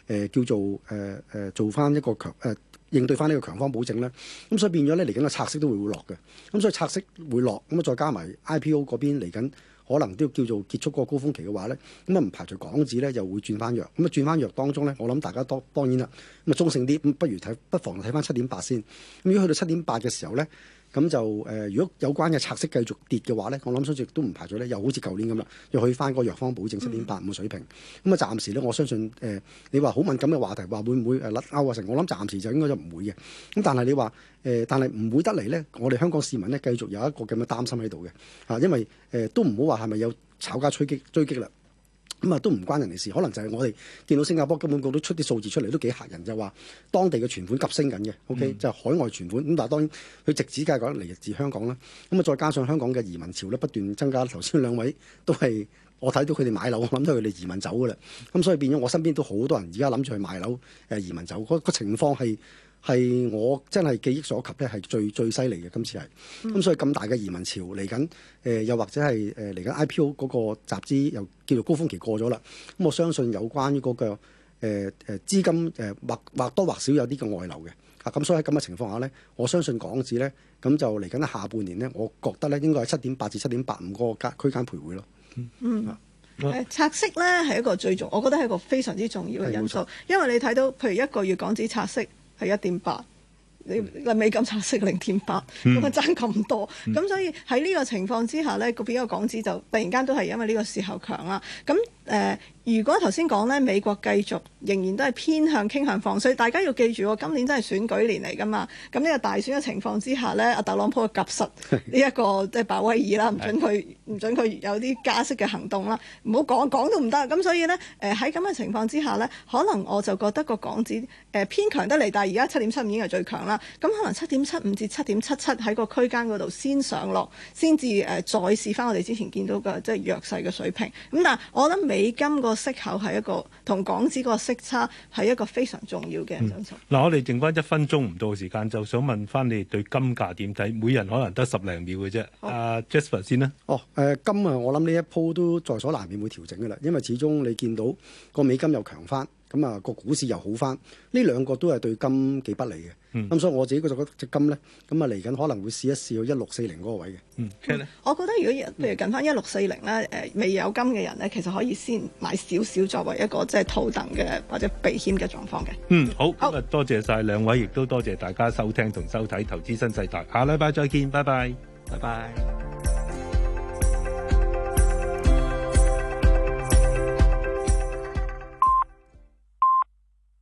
叫做做翻一個應對翻呢個強方保證咧，咁所以變咗咧嚟緊個拆息都會落嘅，咁所以拆息會落，咁啊再加埋 IPO 嗰邊嚟緊。可能都要叫做結束嗰個高峰期嘅話咧，咁啊唔排除港紙咧又會轉翻弱，咁啊轉翻弱當中咧，我諗大家當然啦，咁啊中性啲，咁不妨睇翻7.8先。咁如果去到7.8嘅時候咧，咁就如果有關嘅拆息繼續跌嘅話咧，我諗相信亦都唔排除咧，又好似舊年咁啦，又去翻個弱方保證7.85嘅水平。咁啊暫時咧，我相信你話好敏感嘅話題，話會唔會甩鈎啊成？我諗暫時就應該就唔會嘅。咁但係你話但係唔會得嚟咧，我哋香港市民咧繼續有一個咁嘅擔心喺度嘅，因為都唔好話係咪有炒家追擊啦。咁啊都唔關人哋事，可能就係我哋見到新加坡金管局都出啲數字出嚟，都幾嚇人，就話當地嘅存款急升緊嘅，OK，就係海外存款。咁但係當然佢直指梗係講嚟自香港啦。咁啊再加上香港嘅移民潮咧不斷增加，頭先兩位都係我睇到佢哋買樓，我諗到佢哋移民走噶啦。咁所以變咗我身邊都好多人而家諗住去買樓移民走，個情況係我真係記憶所及咧，係最犀利嘅。今次係咁，所以咁大嘅移民潮嚟緊，又或者係嚟緊 IPO 嗰個集資又叫做高峰期過咗啦。咁我相信有關於嗰個資金或多或少有啲嘅外流嘅。咁所以喺咁嘅情況下咧，我相信港紙咧咁就嚟緊下半年咧，我覺得咧應該係7.8至7.85嗰個區間徘徊咯。
拆息咧係一個我覺得係一個非常之重要嘅因素，因為你睇到譬如一個月港紙拆息係1.8，你美金拆息0.8，咁啊爭咁多，咁所以喺呢個情況之下咧，個邊個港紙就突然間都係因為呢個時候強啦。咁如果頭先講咧，美國繼續仍然都係傾向放水，大家要記住，今年真係選舉年嚟㗎嘛。咁呢個大選嘅情況之下咧，阿特朗普夾實呢一個即係鮑威爾啦，唔准佢有啲加息嘅行動啦，唔好講都唔得。咁所以咧，喺咁嘅情況之下咧，可能我就覺得個港紙偏強得嚟，但係而家7.75已經係最強啦。咁可能7.75至7.77喺個區間嗰度先上落，先至再試翻我哋之前見到嘅即係弱勢嘅水平。咁但係我覺得美金個息口係一個同港紙個息差係一個非常重要嘅因素。
嗱，我哋剩翻1分鐘唔到時間，就想問翻你對金價點睇？每人可能得10零秒嘅啫。阿 Jasper 先啦。
金啊，我諗呢一鋪都在所難免會調整嘅啦，因為始終你見到個美金又強翻。咁啊，個股市又好翻，呢兩個都係對金幾不利嘅。咁所以我自己覺得隻金咧，咁啊嚟緊可能會試一試去1640嗰個位嘅。
我覺得如果譬如近翻1640咧，未有金嘅人咧，其實可以先買少少作為一個即係套戥嘅或者避險嘅狀況嘅。
好，今日多謝晒兩位，亦都多謝大家收聽同收睇《投資新世代》，下禮拜再見，拜拜，拜拜。